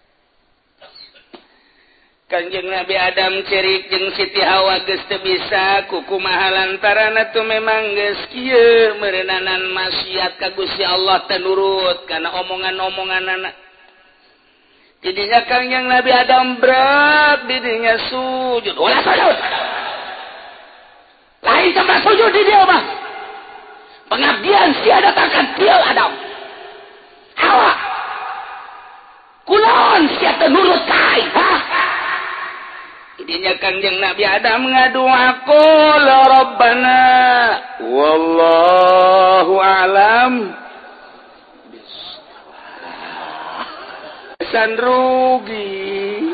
Kangjeng Nabi Adam cerik jeung Siti Hawa geus teu bisa kukumaha lantaran atuh memang geus kieu meureunanan maksiat ka Gusti Allah teu nurut kana omongan-omonganna. Jadinya Kangjeng Nabi Adam berat didinya sujud. Ulah sujud. Lain tempat sujud di dia mah. Pengabdian sia datangkan tiel Adam. Hawa. Kulon sia teu nurut kai. Ha? Idinya Kangjeng Nabi Adam ngadua qala rabbana wallahu a'lam san rugi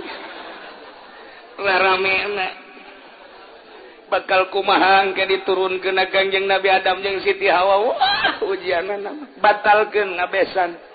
laramena bakal kumaha ke diturunkeun ka Kangjeng Nabi Adam jeung Siti Hawa wah ujianna batalkeun ngabesan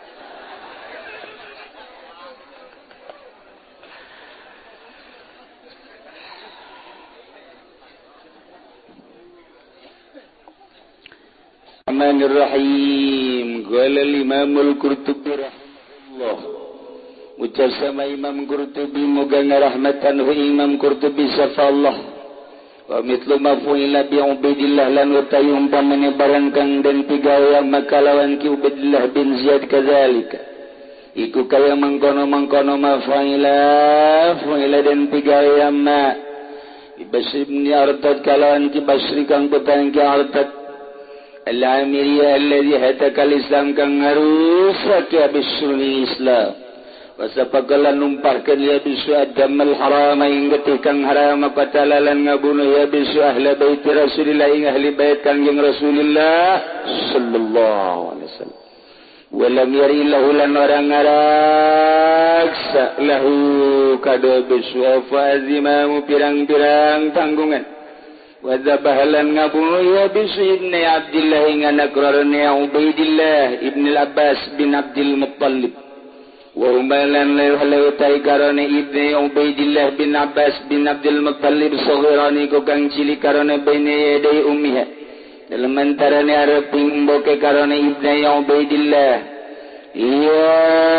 Bismillahirrahmanirrahim. Qala Imamul Qurtubi rahimahullah. Ucap sama Imam Qurtubi moga ngarahmatan hu Imam Qurtubi safallah. Wa mitlu ma fu'ila bi Ubaidillah lan utai umpamane barang kang den pigawe makalawan ki Ubaidillah bin Ziyad kadzalika. Iku kaya mangkono-mangkono ma fa'ila fu'ila den pigawe amma. Ibasib ni artad kalawan ki Basri kang petang ki artad. Al-Amiriyah alladhi hatakal Islam kang ngarusak ya bisulni Islam wasapagalan numpahkan ya bisu adamal harama ingetih kang harama patalalan ngabunuh ya bisu ahla baiti Rasulillah ing ahli bait kang yang Rasulillah sallallahu alaihi wasallam walam yari lahu lan orang ngaraksa lahu kado bisu afazimamu pirang-pirang tanggungan Wadzabahalan ngabunuh ya bisu ibn Abdillah ing anak rarane Ubaidillah ibn al-Abbas bin Abdul Muttalib wa umalan lahu tai karane ibn Ubaidillah bin Abbas bin Abdul Muttalib saghirani ko kang cilik karane baine yaday ummiha dalam antarane arep mboke karane ibn Ubaidillah ya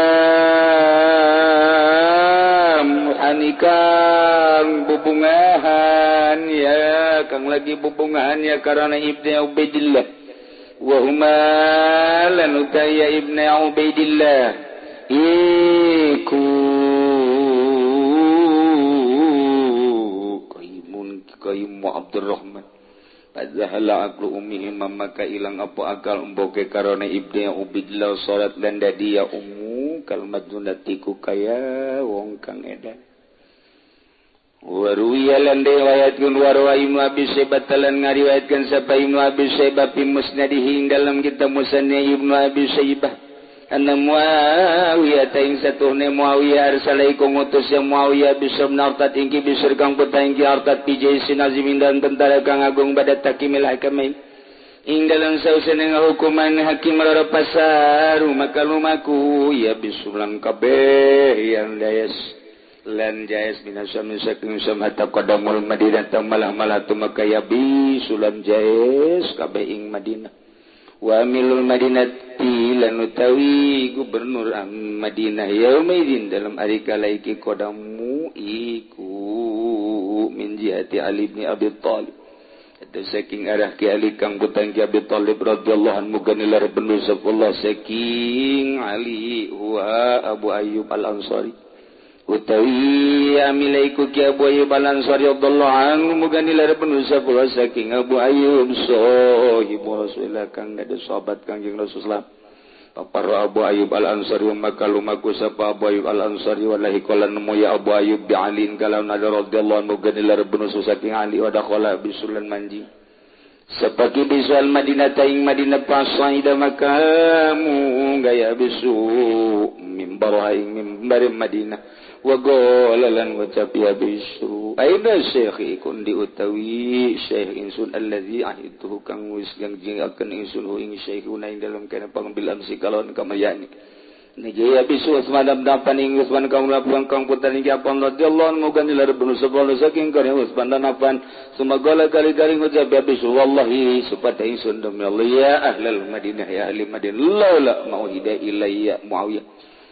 muhanikang bubungahan ya kang lagi bubungahan ya karena ibnu Ubaidillah wa huma lan utaya ibnu Ubaidillah iku qaimun qaimu Abdurrahman padzahala aqlu ummihi maka ilang apa akal mboke karena ibnu Ubaidillah salat lan dadi ya ummu kalmat dunatiku kaya wong kang edan Waruya lan riwayatkeun warwa Ibnu Abi Syaibah talan ngariwayatkeun sapa Ibnu Abi Syaibah fi musnadihi dalam kitab musnad Ibnu Abi Syaibah anna Muawiyah ta ing satuhne Muawiyah arsalaiku ngutus ya Muawiyah bisab nartat ingki bisur kang putah ingki artat pijai sinazimin dan tentara kang agung badat takimil hakamain ing dalam sausana hukuman hakim lara pasar maka lumaku ya bisulan kabeh yang dayas lan jais minasam saking samata qadamul Madinah tamalah malatu makaya bisulan jais kabeh ing Madinah wa amilul Madinati lan utawi gubernur Madinah yaumaidin dalam hari kala iki qadamu iku min jihati Ali bin Abi Thalib ada saking arah ki Ali kang butang ki Abi Thalib radhiyallahu anhu ganilar benu sapullah saking Ali wa Abu Ayyub Al-Ansari utawi amilaiku ki Abu Ayyub Al-Ansari radhiyallahu anhu muganilar benu sapullah saking Abu Ayyub sahibu Rasulullah kang ada sahabat kanjeng Rasulullah papar Abu Ayyub Al-Ansari maka lumaku sapa Abu Ayyub Al-Ansari wallahi qala nemu ya Abu Ayyub bi Aliin kalau nada radhiyallahu anhu ganilar benu saking Ali wa dakhala bisulan manji sepaki bisual Madinah taing Madinah pasaida makamu gaya bisu mimbar aing mimbar Madinah wa qalalan ngucap ya bisu aina syekh ikun diutawi syekh insun allazi ahituhu kang wis janjiakeun insun ing syekhuna ing dalam kana pangambilan sikalon kamayani niki ya bisu Utsman dapan ing Utsman kang lapuan kang putan ing apa radhiyallahu anhu gandilar bunu sabana saking kana Utsman dapan sumagala kali-kali ngucap ya bisu wallahi supaya insun demi Allah ya ahlal Madinah ya ahli Madinah laula mauhida ilayya Muawiyah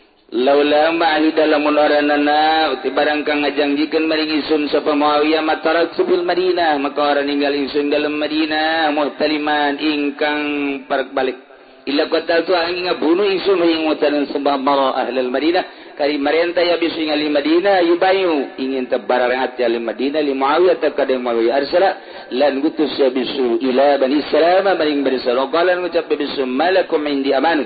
laula ma'ahida lamun oranana uti barang kang ngajangjikeun maring insun sapa Muawiyah matarat subil Madinah maka orang ninggal insun dalam Madinah muhtaliman ingkang parak balik illa qatal tu angin ngabunuh insun ing mutalan sembah mara ahlul Madinah kari marenta ya bisu ngali Madinah yubayu ingin tabarar hati ahli Madinah li Muawiyah takade Muawiyah arsala lan gutus ya bisu ila bani Salama maring bani Salama qalan ngucap bisu malakum indi amanut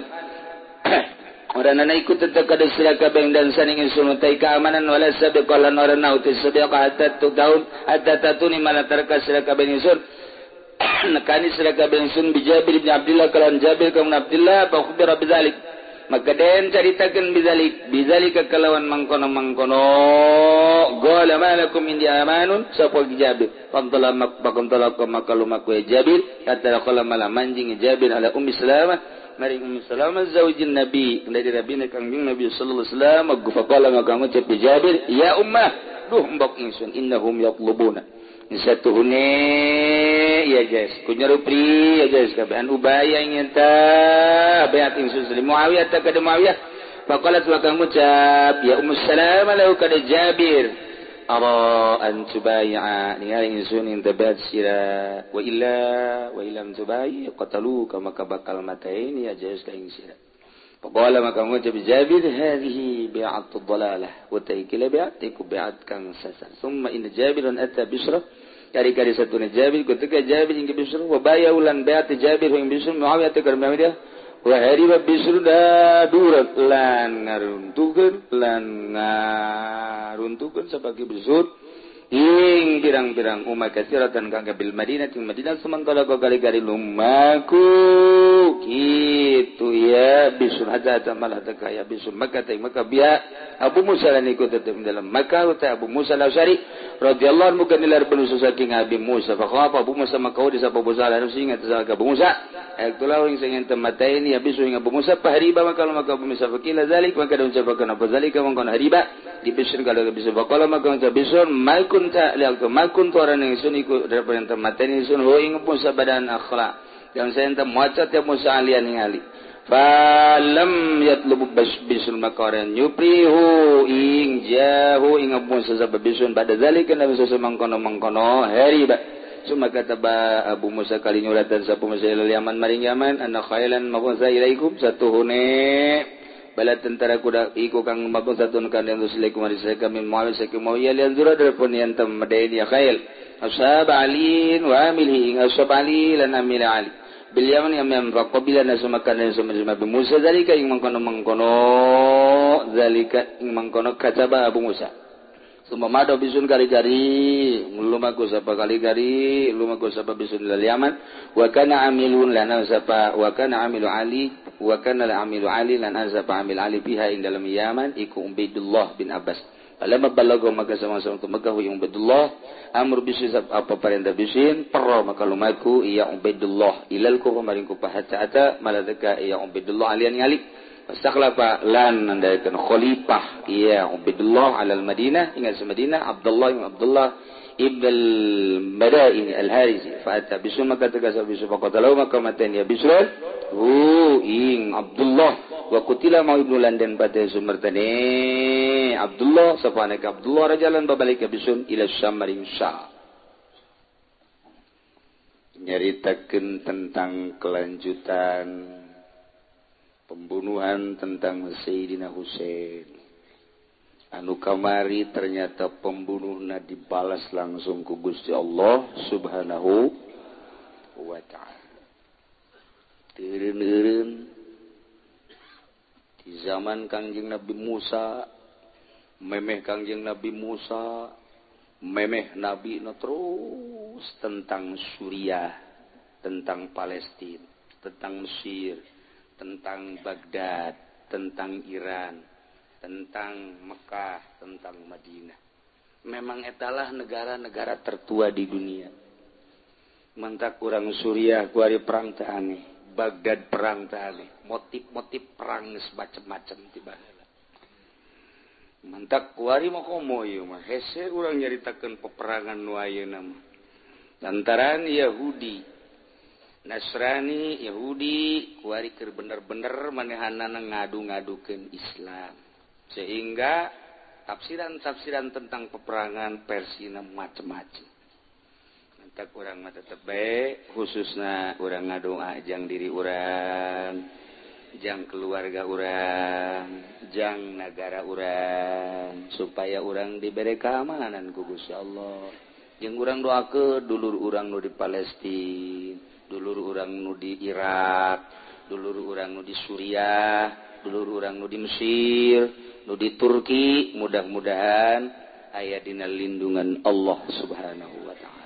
orang nana ikut tetap kada sila kabeng dan saning insun utai keamanan wala sabiqalan orang nauti sabiqa hatta tu daun hatta tatuni malatarka sila kabeng insun nakani sila kabeng insun bijabir bin Abdullah kalan Jabir kaum Abdullah fa khubira bidzalik maka den caritakeun bidzalik bidzalika kalawan mangkono mangkono qala malakum indi amanun sapa Jabir fantala makbakun talaqa makalumaku Jabir hatta qala malam manjing Jabir ala ummi Salamah maring Ummu Salamah zaujin Nabi dari Nabi kangjeng Nabi sallallahu alaihi wasallam gufaqala ngakamu cepi Jabir ya ummah duh mbok ingsun innahum yatlubuna satuhune ya guys kunyarupri ya guys kabehan ubaya ingin ta bayat insun salim Muawiyah ta kada Muawiyah faqalat wa kang ucap ya ummu salam lahu kada Jabir ara an tubai'a ningali insun ing tabat sira wa illa wa illam tubai qataluka maka bakal matain ya guys ka ing sira faqala maka ngucap Jabir hadhihi bi'atu dhalalah wa taykila bi'atiku bi'at kang sasar thumma in Jabirun ata bisra kari-kari satuna Jabir ketika Jabir ing Bisr wa baya ulan bayat Jabir ing Bisr Muawiyah tegar Muawiyah wa hariba Bisr da durat lan ngaruntukeun lan ngaruntukeun sabagi Bisr ing pirang-pirang umat kasiratan kang bil Madinah ing Madinah sementara kali-kali lumaku kitu ya Bisr ada malah tekaya Bisr maka teh maka biya Abu Musa lan ikut tetap dalam Makkah ta Abu Musa al-Asy'ari radhiyallahu anhu kanilar penusus saking Abi Musa fa khafa Abu Musa maka di sapa Abu Musa lan singat sa Abu Musa itulah yang sing temataini ya Bisr ing Abu Musa pahriba maka maka Abu Musa fakila zalik maka dan ucapakan apa zalika mangkon hariba di Bisr kalau Bisr faqala maka ucap Bisr mal kunta lialku mal kuntu orang yang sun iku daripada temataini sun ho ing Musa badan akhlak yang saya ente macat ya Musa alian ningali falam yatlubu bisul makaran yuprihu ing jahu ing Abu Musa sabab bisun pada zalika nabi sallallahu mangkono mangkono hariba summa kataba Abu Musa kali nyuratan sa Abu Musa ilal Yaman maring Yaman anna khailan mabunsa ilaikum satuhune bala tentara kuda iku kang mabunsa tun kan yang sulaikum marisai kami Muawiyah saking Muawiyah lian zura darpun yang tam madaini ya khail ashab Ali wa amilhi ing ashab Ali lan amil Ali bil Yaman yang maqabila nasumakan dan summa Abu Musa zalika ing mangkono mangkono zalika ing mangkono kataba Abu Musa summa mado bisun kali-kali lumaku sapa kali-kali lumaku sapa bisun lil Yaman wa kana amilun lana sapa wa kana amilu Ali wa kana amilu Ali lana sapa amil Ali biha ing dalam Yaman iku Ubaidullah bin Abbas alam balago maka sama-sama tu Makkah yang Ubaidullah amr bisin apa perintah bisin perro maka lumaku iya Ubaidullah ilal ku kemarin ku pahaca maladaka iya Ubaidullah alian ngali fastakhlafa lan nandaikan khalifah iya Ubaidullah alal Madinah ingat sa Madinah Abdullah ibn Abdullah ibn al-Madaini al-Harisi fa'ata bisun maka tegasa bisun faqatalau maka matan ya bisun hu ing Abdullah wa kutila mau ibnu London pada sumertane Abdullah safana ka Abdullah rajalan babalik bisun ila Syam maring Syam nyaritakeun tentang kelanjutan pembunuhan tentang Sayyidina Husain anu kamari ternyata pembunuhna dibalas langsung ku Gusti Allah Subhanahu wa taala teureun-eureun di zaman Kangjeng Nabi Musa memeh Kangjeng Nabi Musa memeh Nabi no terus tentang Suriah tentang Palestina tentang Mesir tentang Baghdad tentang Iran tentang Mekah tentang Madinah memang etalah negara-negara tertua di dunia mantak kurang Suriah kuari perang teh aneh Baghdad perang teh aneh motif-motif perang geus macem-macem tiba heula mantak kuari mah komo ieu mah hese urang nyaritakeun peperangan nu ayeuna mah lantaran Yahudi Nasrani Yahudi kuari keur bener-bener manehanana ngadu-ngadukeun Islam sehingga tafsiran-tafsiran tentang peperangan Persina macem-macem mantak urang mah tetep bae khususna urang ngadoa jang diri urang jang keluarga urang jang negara urang supaya urang dibere keamanan ku Gusti Allah jeung urang doakeun dulur urang nu di Palestina dulur urang nu di Irak dulur urang nu di Suriah dulur urang nu di Mesir nu di Turki mudah-mudahan aya dina lindungan Allah Subhanahu wa taala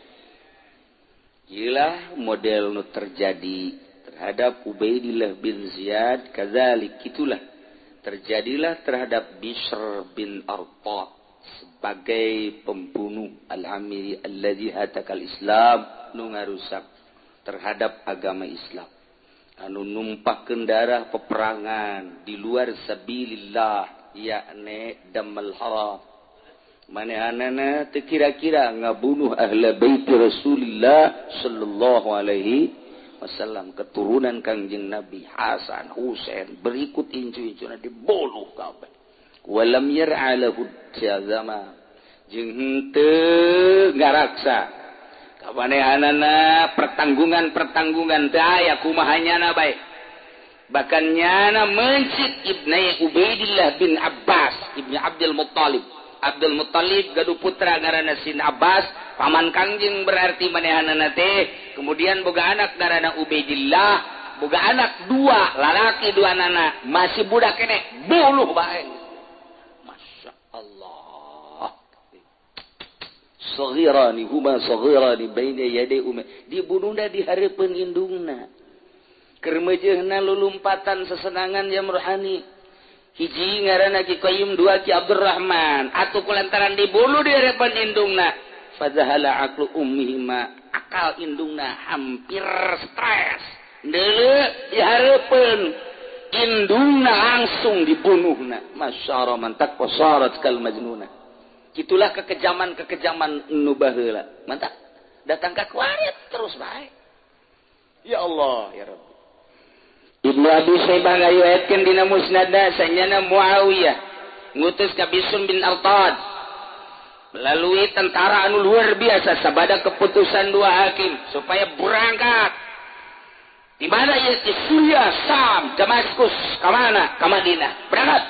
ilah model nu terjadi terhadap Ubaidillah bin Ziyad kadzalik itulah terjadilah terhadap Bishr bin Arqad sebagai pembunuh al-amiri alladzi hatakal Islam nu ngarusak terhadap agama Islam anu numpahkeun darah peperangan di luar sabilillah yakni damal haram manehanana teu kira-kira ngabunuh ahli bait Rasulullah sallallahu alaihi wasallam, keturunan Kangjeng Nabi Hasan Husain berikut incu-incuna dibuluh kabeh. Walam yar'a lahu jazama jeung henteu ngaraksa kamanehanana pertanggungan-pertanggungan teu aya kumahanyana bae. Bahkan nyana mencit Ibnu Ubaidillah bin Abbas Ibnu Abdul Muttalib. Abdul Muttalib gaduh putra ngaranna Sin Abbas, paman Kangjeng berarti manehanana teh. Kemudian boga anak ngaranna Ubaidillah, boga anak dua, lalaki dua anak, masih budak kene, buluh bae. Masya Allah. Saghirani huma saghirani baina yaday ummi. Dibunuhna di hareupeun indungna. Kermejehna lulumpatan sesenangan jam rohani. Hiji ngaranna Ki Qayyum, dua Ki Abdurrahman. Atuh kulantaran dibunuh di harapan indungna. Fadzahala aqlu ummihima. Akal indungna hampir stres. Deuleu di harapan indungna langsung dibunuhna. Masyaallah mantak wasarat kal majnuna. Itulah kekejaman-kekejaman nu baheula. Mantap. Datang ka kuarit terus bae. Ya Allah ya Rabb. Ibnu Abi Syaibah ngariwayatkeun dina musnadna sanyana Muawiyah ngutus ka Bishr bin Al-Tad melalui tentara anu luar biasa sabada keputusan dua hakim supaya berangkat di mana ieu di Syria, Sam, Damaskus, ka mana? Ka Madinah. Berangkat.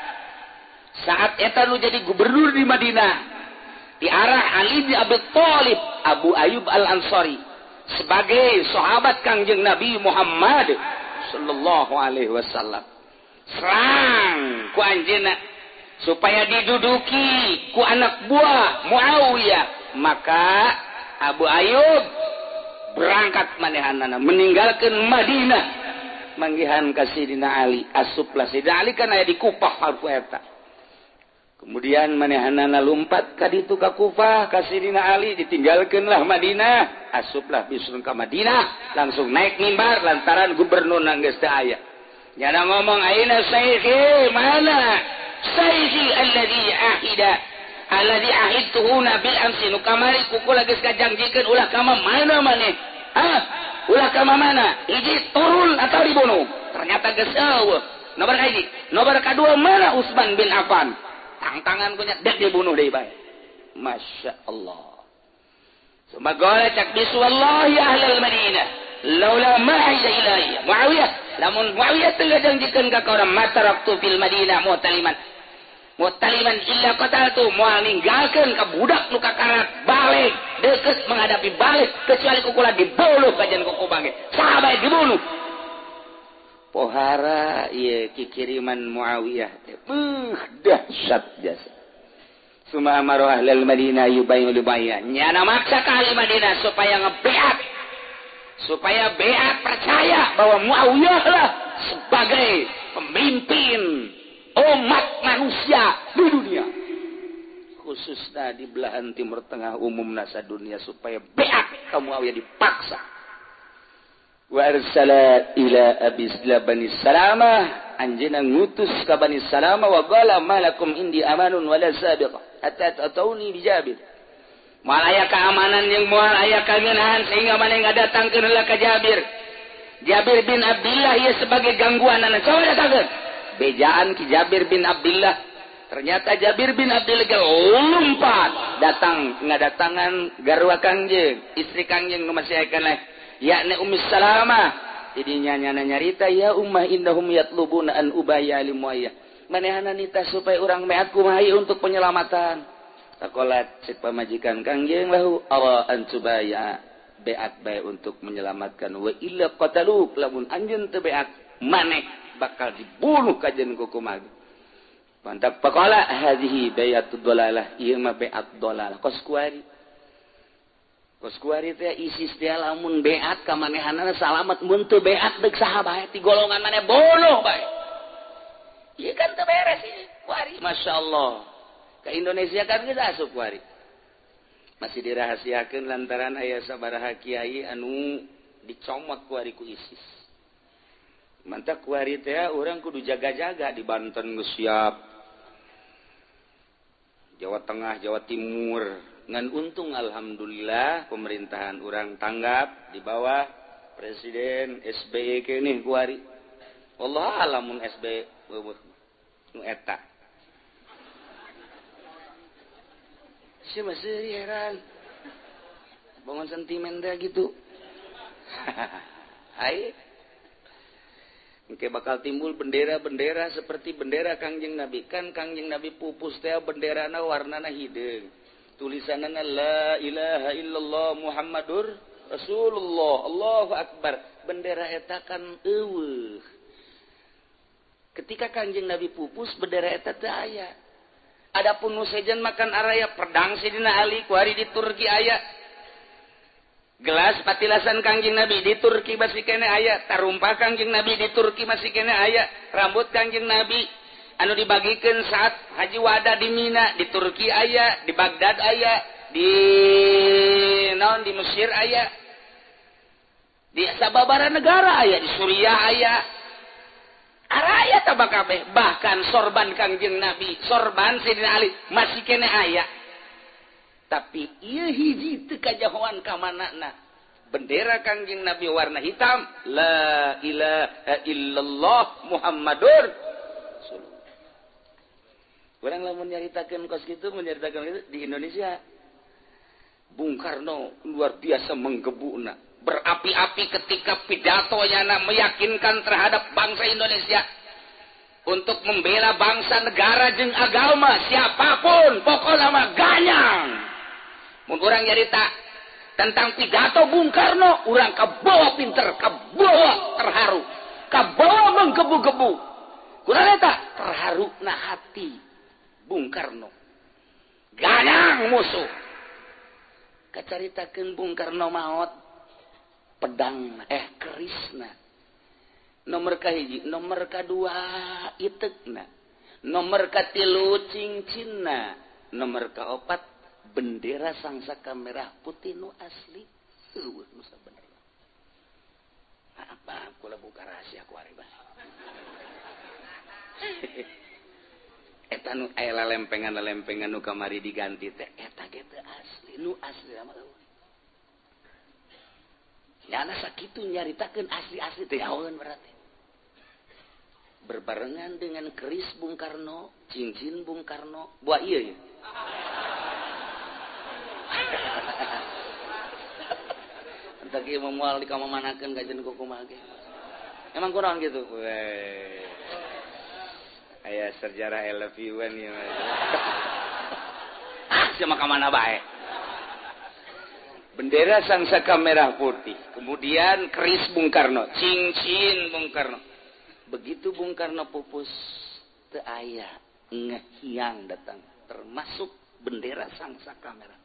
Saat eta nu jadi gubernur di Madinah diarah Ali bin Abi Thalib Abu Ayyub Al-Ansari sebagai sahabat Kangjeng Nabi Muhammad sallallahu alaihi wasallam. Serang ku anjeunna supaya diduduki ku anak buah Muawiyah. Maka Abu Ayyub berangkat manehanana meninggalkan Madinah manggihan ka Sidina Ali. Asuplah Sidina Ali kan aya di Kufah harfu eta. Kemudian manehanana lumpat ka ditu ka Kufah ka Sidina Ali, ditinggalkeunlah Madinah. Asuplah Bisrun ka Madinah, langsung naik mimbar lantaran gubernur geus teu aya. Nyana ngomong aina sayyidi, mana sayyidi alladzi ahida alladzi ahidtuhu nabil amsi nu kamari kukula geus kajangjikeun ulah ka mana maneh? Hah? Ulah ka mana? Hiji turun atau dibunuh? Ternyata geus eueuh. Nomor hiji, nomor kadua mana Utsman bin Affan? Tang-tangan punya dek dibunuh deui bae. Masya Allah. Semoga cak bisu wallahi ahlal Madinah laula ma'ida ilahi Muawiyah lamun Muawiyah teu janjikeun ka urang mataraktu fil Madinah mu'taliman mu'taliman illa qataltu moal ninggalkeun ka budak nu kakarak balik deukeut menghadapi balik kecuali kukula dibunuh kajian kuku bangke sahabat dibunuh. Pohara ieu kikiriman Muawiyah teh beuh dahsyat jasa. Suma amaru ahlal Madinah yubayyu libayya. Nyana maksa ka ahli Madinah supaya ngebeat. Supaya beat percaya bahwa Muawiyah lah sebagai pemimpin umat manusia di dunia. Khususnya di belahan timur tengah umum nasa dunia supaya beat ka Muawiyah dipaksa. Wa arsala ila Abi Bani Salamah anjeunna ngutus ka Bani Salamah wa qala malakum indi amanun wala sabiqah hatta atauni bi Jabir. Moal aya keamanan jeung moal aya kangeunahan sehingga maneh ngadatangkeun heula ka Jabir. Jabir bin Abdullah ieu sebagai gangguanana coba datangkeun. Bejaan ki Jabir bin Abdullah. Ternyata Jabir bin Abdullah lompat datang ngadatangan garwa Kangjeng, istri Kangjeng nu masih kana yakni Ummu Salamah. Jadi nyanyana nyarita ya ummah innahum yatlubuna an ubaya li Muayyah. Manehana nita supaya urang meat kumaha untuk penyelamatan. Takolat cek pamajikan Kangjeng lahu ara an subaya beat bae untuk menyelamatkan wa illa qataluk lamun anjeun teu beat maneh bakal dibunuh kajen ku kumaha. Mantap pakola hadhihi bayatud dalalah ieu mah beat dalalah kos kuari. Kos kuari teh isis teh lamun beat ka manehanana salamat mun teu beat deuk saha bae ti golongan maneh bunuh bae. Ieu kan teu beres ieu kuari masyaallah. Ke Indonesia kan geus asup kuari. Masih dirahasiakeun lantaran aya sabaraha kiai anu dicomot kuari ku ISIS. Mantap kuari teh urang kudu jaga-jaga di Banten geus siap. Jawa Tengah, Jawa Timur. Ngan untung alhamdulillah pemerintahan urang tanggap di bawah Presiden S B Y ke nih kuari. Allah alamun S B Y eueuh nu eta. Sia masih heran. Bangun sentimen teh gitu. Hai. Mungkin bakal timbul bendera-bendera seperti bendera Kangjeng Nabi. Kan Kangjeng Nabi pupus teh benderana warnana hideung. Tulisanana la ilaha illallah Muhammadur Rasulullah. Allahu akbar. Bendera eta kan eueuh. Ketika Kangjeng Nabi pupus bendera eta teu aya. Adapun nu sejen makan araya pedang sidina Ali kuari di Turki aya. Gelas patilasan Kangjeng Nabi di Turki masih kene aya, tarumpah Kangjeng Nabi di Turki masih kene aya, rambut Kangjeng Nabi anu dibagikeun saat haji wada di Mina di Turki aya, di Baghdad aya, di naon di Mesir aya, di sababaraha negara aya, di Suriah aya. Araya tabak kabeh, bahkan sorban Kangjeng Nabi, sorban Sayyidina Ali masih kene aya. Tapi ieu hiji teu kajahoan ka manana. Bendera Kangjeng Nabi warna hitam, la ilaha illallah Muhammadur Rasulullah. Urang lamun nyaritakeun kos kitu, nyaritakeun kitu di Indonesia. Bung Karno luar biasa menggebuna, berapi-api ketika pidatonya meyakinkan terhadap bangsa Indonesia untuk membela bangsa negara jeung agama siapapun, pokokna mah ganyang. Mun urang nyarita tentang pidato Bung Karno, urang kabawa pinter, kabawa terharu, kabawa menggebu-gebu. Kurang eta terharu na hati Bung Karno. Ganyang musuh. Kacaritakeun Bung Karno maot pedang eh kerisna. Nomor kahiji, nomor kadua itekna. Nomor katilu cincinna. Nomor kaopat bendera sangsaka merah putih nu asli. Eueuh nu sabenerna. Apa kula buka rahasia ku ari bae. Eta nu aya lempengan-lempengan nu kamari diganti teh eta ge teu asli, nu asli mah eueuh. Nyana sakitu nyaritakeun asli-asli teh yaeun berarti. Berbarengan dengan keris Bung Karno, cincin Bung Karno, buah ieu ya. Entah kieu moal dikamamanakeun kajen ku kumaha ge. Emang kunaon gitu? Weh. Aya sejarah I love you-an ieu mah. Ah, sia mah ka mana bae. Bendera sangsaka merah putih. Kemudian keris Bung Karno, cincin Bung Karno. Begitu Bung Karno pupus teu aya ngehiang datang, termasuk bendera sangsaka merah.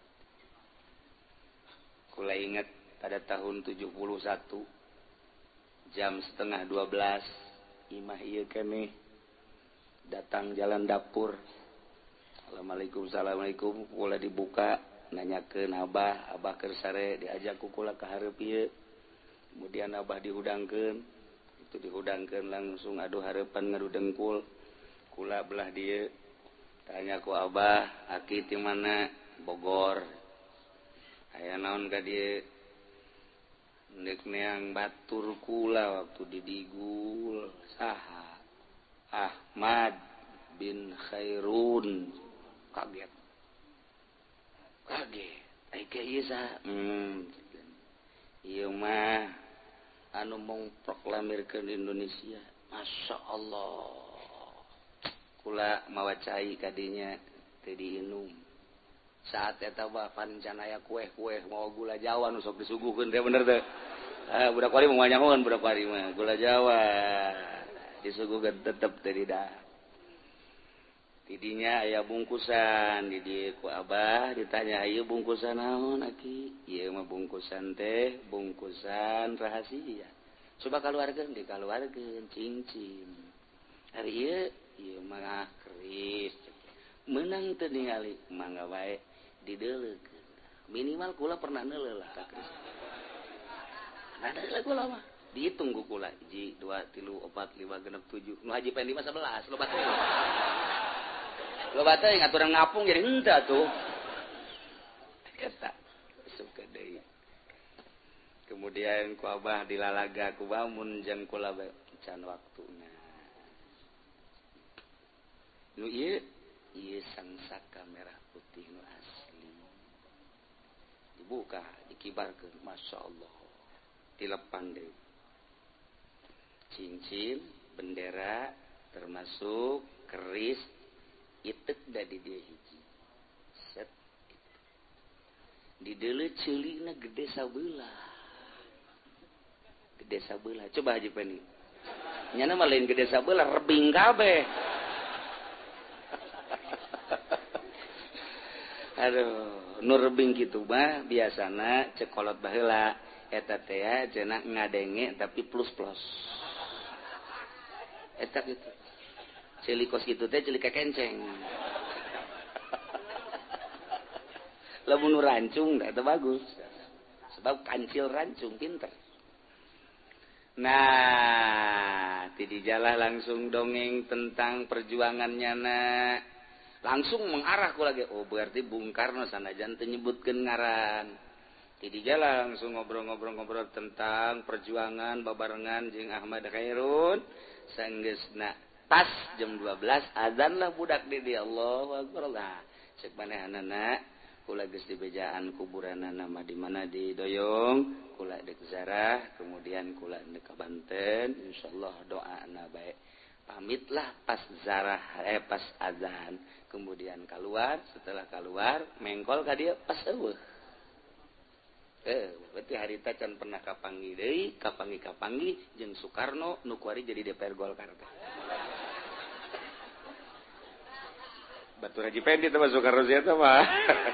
Kula ingat pada tahun tujuh puluh satu jam setengah dua belas imah ieu keneh datang jalan dapur. Assalamualaikum, assalamualaikum. Kula dibuka nanyakeun abah, abah keur sare diajak ku kula ka hareup ieu. Kemudian abah dihudangkeun, itu dihudangkeun langsung aduh hareupan ngadu dengkul. Kula belah dieu tanya ku abah, aki ti mana? Bogor. Aya naon ka dieu? Neuk neang batur kula waktu di Digul. Saha? Ahmad bin Khairun. Kaget. Kaget. Ai ka ieu saha? Hmm. Ieu mah anu mung proklamirkeun Indonesia. Masya Allah. Kula mawa cai kadinya teu diinum. Saat eta mah pancanaya kueh-kueh mawa gula Jawa nu sok disuguhkeun teh bener teh. Ah budak wari mah nyahoan budak wari mah gula Jawa disuguhkeun tetep teh di dah. Tidinya aya bungkusan di dieu ku abah ditanya ieu bungkusan naon aki? Ieu mah bungkusan teh bungkusan rahasia. Coba kaluarkeun dikaluarkeun cincin. Ari ieu ieu mah keris. Menang teu ningali mangga bae dideulekeun. Minimal kula pernah neuleuh lah ka keris. Nah da kula mah dihitung ku kula satu dua tilu empat lima genep tujuh. Nu haji pendi mah sebelas loba teh. Loba teh ngaturan ngapung jadi henteu tuh. Eta suka deui. Kemudian ku abah dilalaga ku bamun jeung kula can waktuna. Nu ieu ieu sangsaka merah putih nu asli. Dibuka, dikibarkeun, masyaallah. Dilepan deui. Cincin, bendera termasuk keris itek da di dieu hiji. Set. Di deuleu ceulikna gede sabeulah. Gede sabeulah. Coba Haji Pendi. Nyana mah lain gede sabeulah, rebing kabeh. Aduh, nu rebing kitu mah biasana cekolot baheula eta teh cenah ngadenge tapi plus-plus. Eta kitu. Celikos kitu teh celik kekenceng. Lamun rancung da eta bagus. Sebab kancil rancung pinter. Nah, ti dijalah langsung dongeng tentang perjuangannya na. Langsung mengarah ku lagi. Oh, berarti Bung Karno sanajan teu nyebutkeun ngaran. Ti dijalah langsung ngobrol-ngobrol-ngobrol tentang perjuangan babarengan jeung Ahmad Khairun sanggeusna pas jam dua belas adzan lah budak di dia Allahu Akbar lah. Cek manehanana kula geus dibejaan kuburanana mah di mana di Doyong, kula dek Zarah, kemudian kula dek ka Banten, insyaallah doana bae. Pamitlah pas Zarah eh pas adzan, kemudian keluar, setelah keluar mengkol ka dieu pas eueuh. Eh, berarti harita can pernah kapanggi deui, kapanggi-kapanggi jeung Soekarno nu kuari jadi D P R Golkar teh. Batur Haji Pendi teh Soekarno sia teh mah.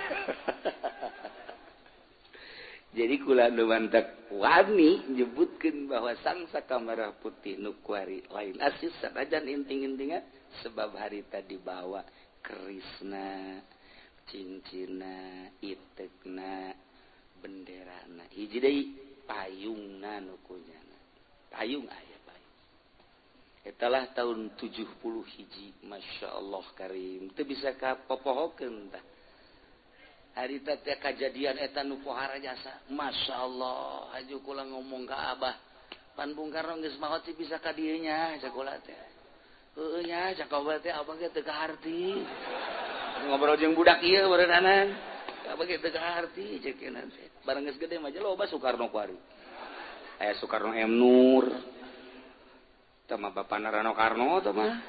Jadi kula nu mantak wani nyebutkeun bahwa sangsaka merah putih nu kuari lain asis sanajan inting-intingan sebab harita dibawa kerisna, cincina, itekna, benderana. Hiji deui payungna nu kunyana. Payung aya payung. Etalah tahun tujuh puluh hiji, Masya Allah Karim. Teu bisa kapopohokeun tah. Harita teh kajadian eta nu pohara jasa. Masya Allah, haju kula ngomong ka Abah. Pan Bung Karno geus maot sih bisa ka dieu nya, cak kula teh. Heueuh nya, cak Abah teh Abah ge teu kaharti. Ngobrol jeung budak ieu beureunanan. Abah ge teu kaharti cek keun teh. Bareng geus gede mah loba Soekarno kuari. Aya Soekarno M Nur. Tah mah bapana Rano Karno tah mah.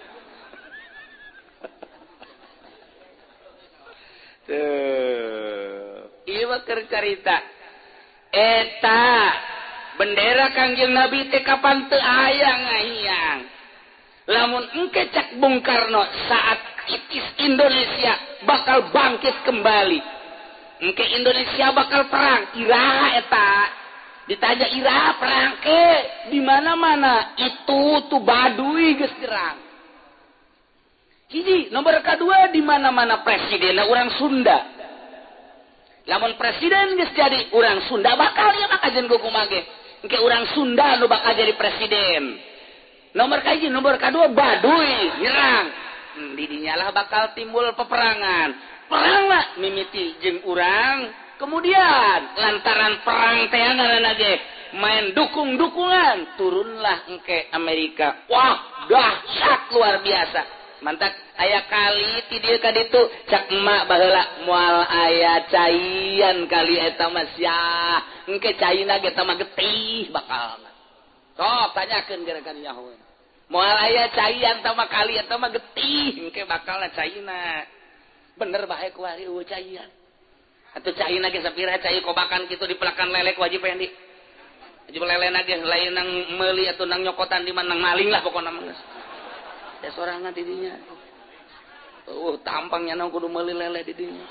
Tuh. Ieu mah keur carita. Eta bendera Kangjeng Nabi teh kapan teu aya ngahiyang. Lamun engke cak Bung Karno saat kritis Indonesia bakal bangkit kembali. Engke Indonesia bakal perang, iraha eta. Ditanya iraha perang ke di mana-mana itu tuh Baduy geus gerang. Hiji, nomor kedua di mana-mana presidenna urang Sunda. Lamun presiden geus jadi urang Sunda bakal ya maka jeung kumaha ge. Engke urang Sunda nu bakal jadi presiden. Nomor kahiji, nomor kedua Baduy nyerang. Hmm, di dinya lah bakal timbul peperangan. Perang lah mimiti jeung urang. Kemudian lantaran perang teh ngaranna ge main dukung-dukungan, turunlah engke Amerika. Wah, dahsyat luar biasa. Mantap aya kali ti dieu ka ditu cak emak baheula moal aya caian kali eta mah sia. Engke caina ge eta mah getih bakal. Sok tanyakeun gara-gara nyaho. Moal aya caian eta mah kali eta mah getih engke bakalna caina. Bener bae ku ari eueuh caian. Atuh caina ge sapira cai kobakan kitu dipelakan lelek wajib Pendi. Wajib lelena ge lain nang meuli atuh nang nyokotan di mana nang maling lah pokona mah geus. Ya sorangan di dinya. Uh, tampangnya nang kudu meuli lele di dinya.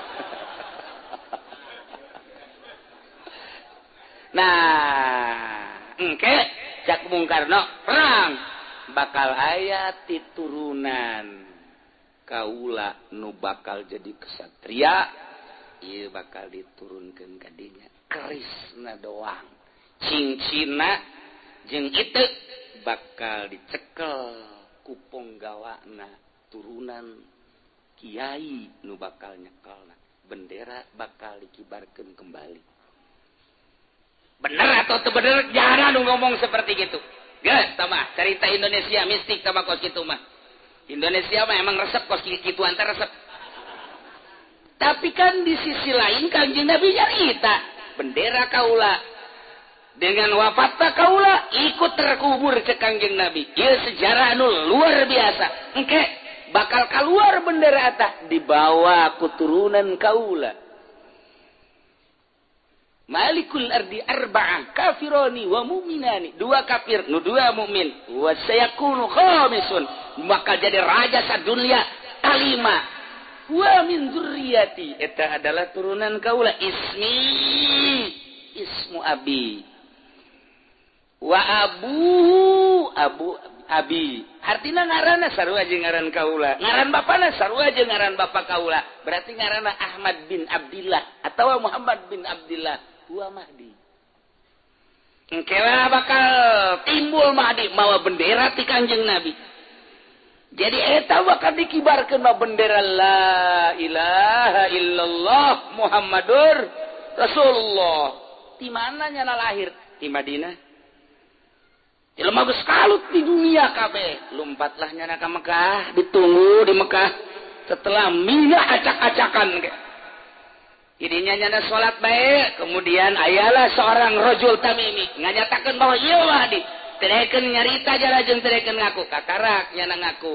Nah, engke cak Bung Karno perang bakal aya titurunan kaula nu bakal jadi kesatria. Ieu bakal diturunkeun ka dinya kerisna doang. Cincina jeung itu bakal dicekel ku ponggawana turunan Kiai nu bakal nyekelna bendera bakal dikibarkeun kembali. Bener atau teu bener jangan nu ngomong seperti gitu. Geus tamah cerita Indonesia mistik tamah kos kitu mah. Indonesia mah emang resep kos kitu antar resep. Tapi kan di sisi lain Kanjeng Nabi nyarita bendera kaula dengan wafatna kaula ikut terkubur cek Kanjeng Nabi. Ieu sejarah anu luar biasa. Engke bakal keluar bendera eta dibawa keturunan kaula. Malikul ardi arba'ah kafirani wa mu'minani. Dua kafir, nu dua mukmin. Wa sayakunu khamisun. Maka jadi raja sadunya kalima. Wa min dzurriyyati. Eta adalah turunan kaula. Ismi ismu abi. Wa abu abu abi. Artina ngaranna sarua jeung ngaran kaula. Ngaran bapana sarua jeung ngaran bapa kaula. Berarti ngaranna Ahmad bin Abdillah atawa Muhammad bin Abdillah. Wa Mahdi. Engkewa bakal timbul Mahdi mawa bendera ti Kanjeng Nabi. Jadi eta bakal dikibarkeun mawa bendera la ilaha illallah Muhammadur Rasulullah. Di mana nyana lahir? Di Madinah. Jelema geus kalut di dunia kabeh. Lompatlah nyana ka Mekah, ditunggu di Mekah. Setelah minyak acak-acakan ge. Idinya nyana salat bae, kemudian ayalah seorang rajul Tamimi nganyatakeun bahwa ieu Mahdi. Terekeun nyarita jara jeung terekeun ngaku, katarak nyana ngaku.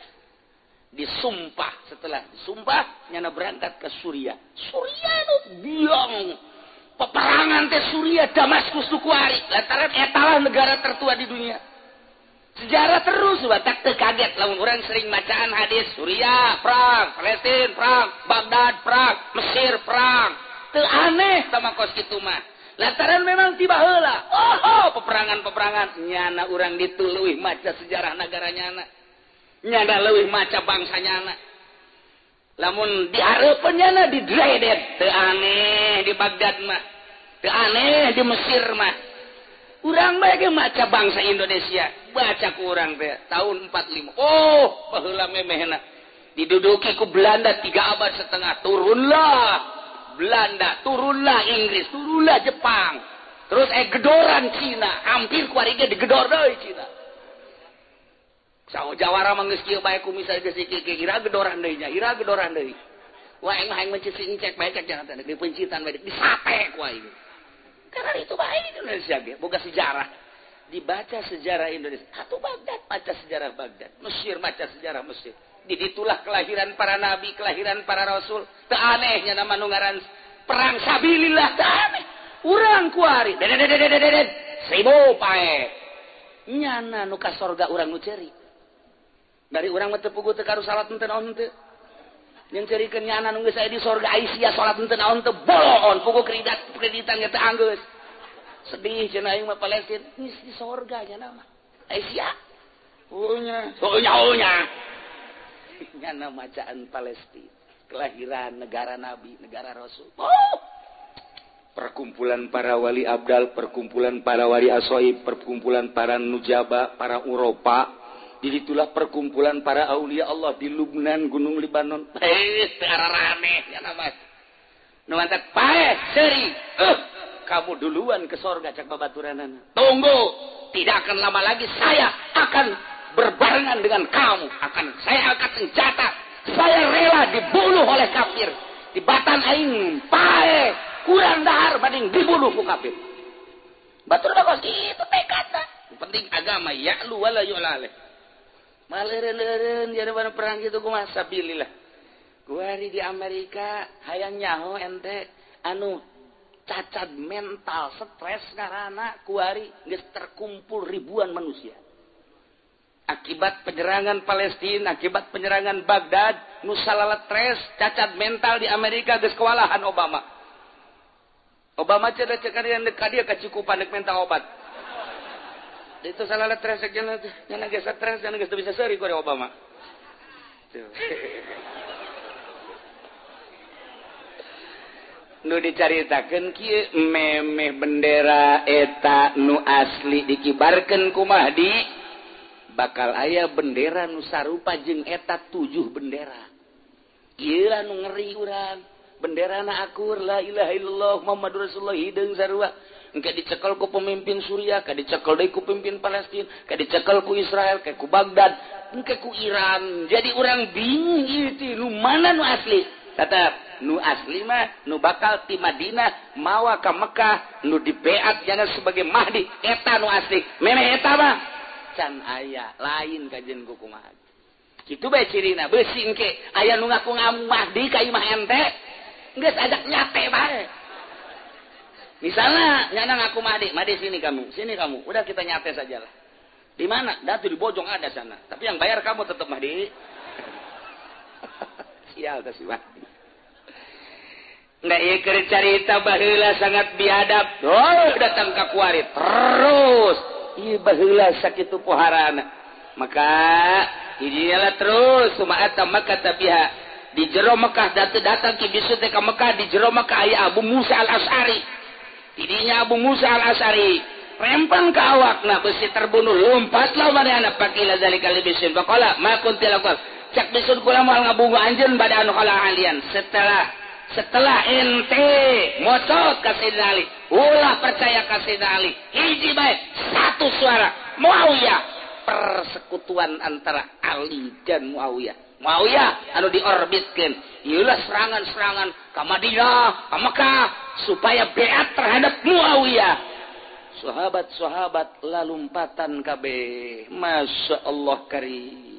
Disumpah, setelah disumpah nyana berangkat ke Suria. Suria nu biang. Peperangan teh Suria Damaskus tu kuari, lantaran eta lah negara tertua di dunia. Sejarah terus batak teu kaget lamun urang sering bacaan hadis Suria perang, Palestina perang, Baghdad perang, Mesir perang. Teu aneh sama kos kitu mah. Lantaran memang tiba heula. Oh, oh peperangan-peperangan nyana urang ditu leuwih maca sejarah negara nyana. Nyana leuwih maca bangsa nyana. Lamun dihareupeun nyana di Dredet, teu aneh di Baghdad mah. Teu aneh di Mesir mah. Urang bae ge maca bangsa Indonesia, baca ku urang teh tahun empat puluh lima. Oh, baheula memehna. Diduduki ku Belanda tiga abad setengah, turunlah Belanda, turunlah Inggris, turunlah Jepang. Terus eh gedoran Cina, hampir kuari ge digedor deui Cina. Sawo Jawara mah geus kieu bae ku misal geus kieu ira gedoran deui nya, ira gedoran deui. Wah aing mah aing mencicing cek bae cek jangan teh di pencitan bae disate ku aing. Karena itu baik Indonesia ge, boga sejarah. Dibaca sejarah Indonesia. Atuh Baghdad, baca sejarah Baghdad. Mesir, baca sejarah Mesir. Ditulah kelahiran para nabi, kelahiran para rasul. Teu anehnya nama nu ngaran perang sabilillah, teu aneh. Urang kuari, dedededededed, seribu pae. Nyana nu ka sorga urang nu ceuri. Dari urang mah teu puguh teu karu salat teu naon teu. Yang cerikeun nyana nu geus aya di sorga Aisyah salat teu naon teu bolon puguh kreditan kreditan ge teu anggeus. Sedih cenah aing mah Palestina geus di sorga nyana mah. Aisyah. Ohnya, ohnya ohnya. Nyana macaan Palestina, kelahiran negara nabi, negara rasul. Oh! Perkumpulan para wali abdal, perkumpulan para wali asoib, perkumpulan para nujaba, para uropa. Disitulah perkumpulan para aulia Allah di Lubnan, Gunung Libanon. Eh, terarane ya nama. Nuantat pae seri. Eh, kamu duluan ke sorga cak babaturanana. Tunggu, tidak akan lama lagi saya akan berbarengan dengan kamu. Akan saya angkat senjata. Saya rela dibunuh oleh kafir. Di batan aing pae kurang dahar bading dibunuh ku kafir. Batur bakos itu tekadna. Penting agama ya'lu wala yu'laleh. Maleureun-eureun jadi mana perang gitu kumaha sabilillah. Kuari di Amerika hayang nyaho ente anu cacat mental, stres ngaranna kuari geus terkumpul ribuan manusia. Akibat penyerangan Palestina, akibat penyerangan Baghdad, nu salala stres, cacat mental di Amerika geus kewalahan Obama. Obama cerdas cekadian deuk ka dieu kacukupan deuk mental obat. Itu salah stres jangan jangan geus stres jangan geus bisa seri ku Obama. Nu dicaritakeun kieu memeh bendera eta nu asli dikibarkeun ku Mahdi bakal aya bendera nu sarupa jeung eta tujuh bendera. ieu lah nu ngeri urang benderana akur la ilaha illallah Muhammadur Rasulullah hideung sarua engke dicekel ku pemimpin Suriah ka dicekel deui ku pemimpin Palestina ka dicekel ku Israel ka ku Baghdad engke ku Iran jadi urang bingung ieu teh nu mana nu asli tetap nu asli mah nu bakal ti Madinah mawa ka Mekah nu dibeat jana sebagai Mahdi eta nu asli memeh eta mah can aya lain kajen ku kumaha kitu bae cirina beusi engke aya nu ngaku ngamu Mahdi ka imah ente geus ajak nyate bae misalnya nyana ngaku Mahdi Mahdi sini kamu sini kamu udah kita nyate sajalah di mana datu di Bojong ada sana tapi yang bayar kamu tetap Mahdi sial teh si Mahdi nggak iya keur carita baheula sangat biadab oh datang ka kuari terus ieu baheula sakitu poharana maka idinya terus sumaata Makkah tabiha di jero Mekah datang datang ki bisu teh ka Mekah di jero Mekah aya Abu Musa al-Asy'ari idinya Abu Musa al-Asy'ari rempang ka awakna besi terbunuh lompatlah manehna pakila zalika libisin faqala ma kuntil laqal cak bisun kula moal ngabungu anjeun bada anu kala alian setelah setelah ente mocot ka Sayyidina Ali ulah percaya ka Sayyidina Ali hiji bae satu suara Muawiyah persekutuan antara Ali dan Muawiyah Muawiyah anu diorbitkeun ieulah serangan-serangan ka Madinah ka Mekah supaya beat terhadap Muawiyah sahabat-sahabat lalumpatan kabeh masyaallah karim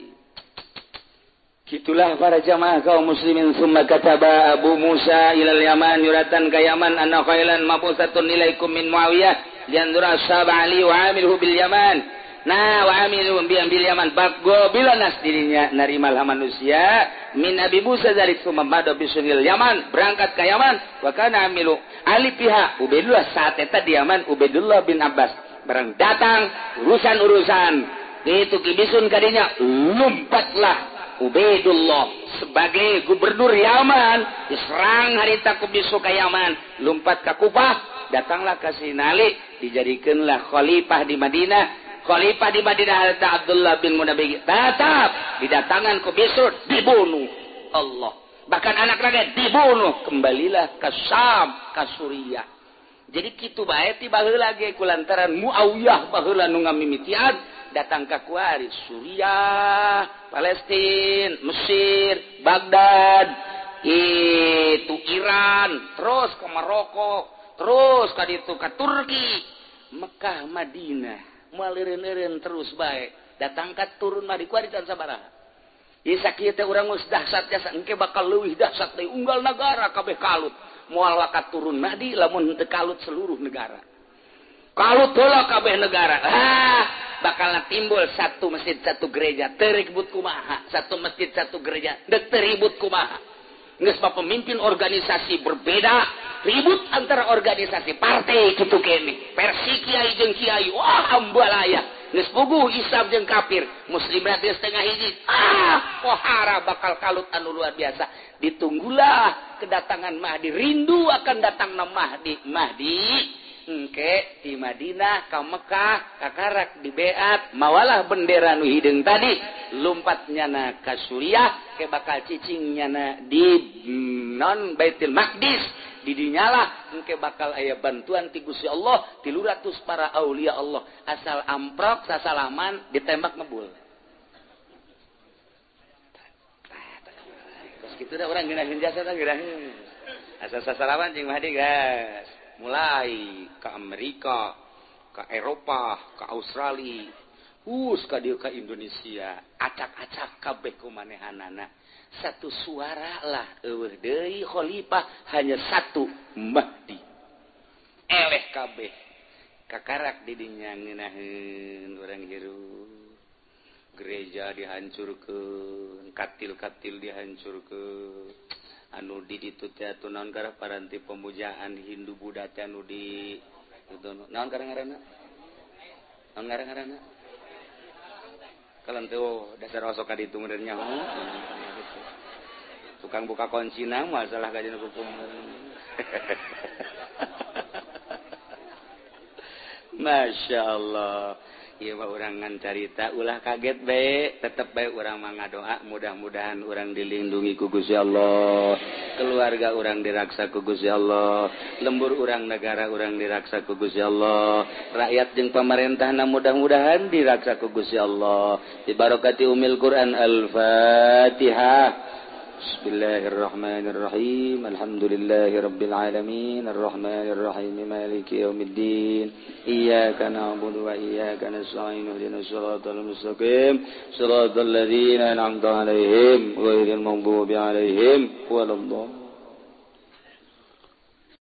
gitulah para jamaah kaum muslimin summa kataba Abu Musa ilal Yaman yuratan ka Yaman anna khailan mabusatun ilaikum min Muawiyah liandura ashab Ali wa amilhu bil Yaman nah wa amilhu bil Yaman baggo bilanas dirinya narimal manusia min Abi Musa zalik summa bada bisunil Yaman berangkat ke Yaman wa kana amilu Ali pihak Ubaidullah saat eta di Yaman Ubaidullah bin Abbas barang datang urusan-urusan itu kibisun kadinya lompatlah Ubaidullah sebagai gubernur Yaman diserang harita kubisu ka Yaman lompat ka Kufah datanglah ka Sinali dijadikeunlah khalifah di Madinah khalifah di Madinah harita Abdullah bin Munabbih tetap didatangan kubisu dibunuh Allah bahkan anak lagi dibunuh kembalilah ke Syam ka Suriah jadi kitu bae ti baheula ge kulantaran Muawiyah baheula nu ngamimitian datang ke kuari Suriah, Palestina, Mesir, Baghdad, itu Iran, terus ke Maroko, terus ke itu ke Turki, Mekah, Madinah, maleureun-eureun terus bae. Datang ka turun mah di kuari tan sabaraha. Ieu sakieu teh urang geus dahsyat jasa engke bakal leuwih dahsyat deui unggal nagara kabeh kalut. Moal wakat turun Mahdi lamun teu kalut seluruh negara. Kalut heula kabeh negara. Ah, bakal timbul satu masjid satu gereja teribut kumaha satu masjid satu gereja dek teribut kumaha geus pemimpin organisasi berbeda ribut antara organisasi partai kitu kene versi kiai jeung kiai wah ambalaya geus puguh Islam jeung kafir muslim teh setengah hiji ah pohara bakal kalut anu luar biasa ditunggulah kedatangan Mahdi rindu akan datangna Mahdi Mahdi engke di Madinah ka Mekah ka karak di beat mawalah bendera nu hideung tadi lompatnya na ka Suriah ke bakal cicingnya na di non Baitul Maqdis di dinyalah engke bakal aya bantuan ti Gusti Allah tilu ratus para aulia Allah asal amprok sasalaman ditembak ngebul terus kitu da urang ngeunaheun jasa tah geuraheun asal sasalaman jeung Mahdi guys mulai ke Amerika, ke Eropa, ke Australia, us ka dieu ka Indonesia, acak-acak kabeh kumanehanana. Satu suara lah eueuh deui khalifah hanya satu Mahdi. Eleh kabeh. Kakarak di dinya ngeunaheun urang hirup. Gereja dihancurkeun, katil-katil dihancurkeun. Anu di ditu teh atuh naon gara paranti pemujaan Hindu Buddha teh anu di itu naon ngaranna naon ngaranna kalen teh dasar osok ka ditu meureun nyaho tukang buka kuncina masalah ka dina hukum Masya Allah Ieu mah urang ngan carita ulah kaget bae, tetep bae urang mah ngadoa mudah-mudahan urang dilindungi ku Gusti Allah, keluarga urang diraksa ku Gusti Allah, lembur urang negara urang diraksa ku Gusti Allah, rakyat jeung pamarentahna mudah-mudahan diraksa ku Gusti Allah. Bi barokati umil Quran Al-Fatihah. Bismillahirrahmanirrahim. Alhamdulillahirabbil alamin arrahmanir rahim maliki yaumiddin. Iyyaka na'budu wa iyyaka nasta'in ihdinas siratal mustaqim siratal ladzina an'amta 'alaihim ghairil maghdubi 'alaihim waladdallin.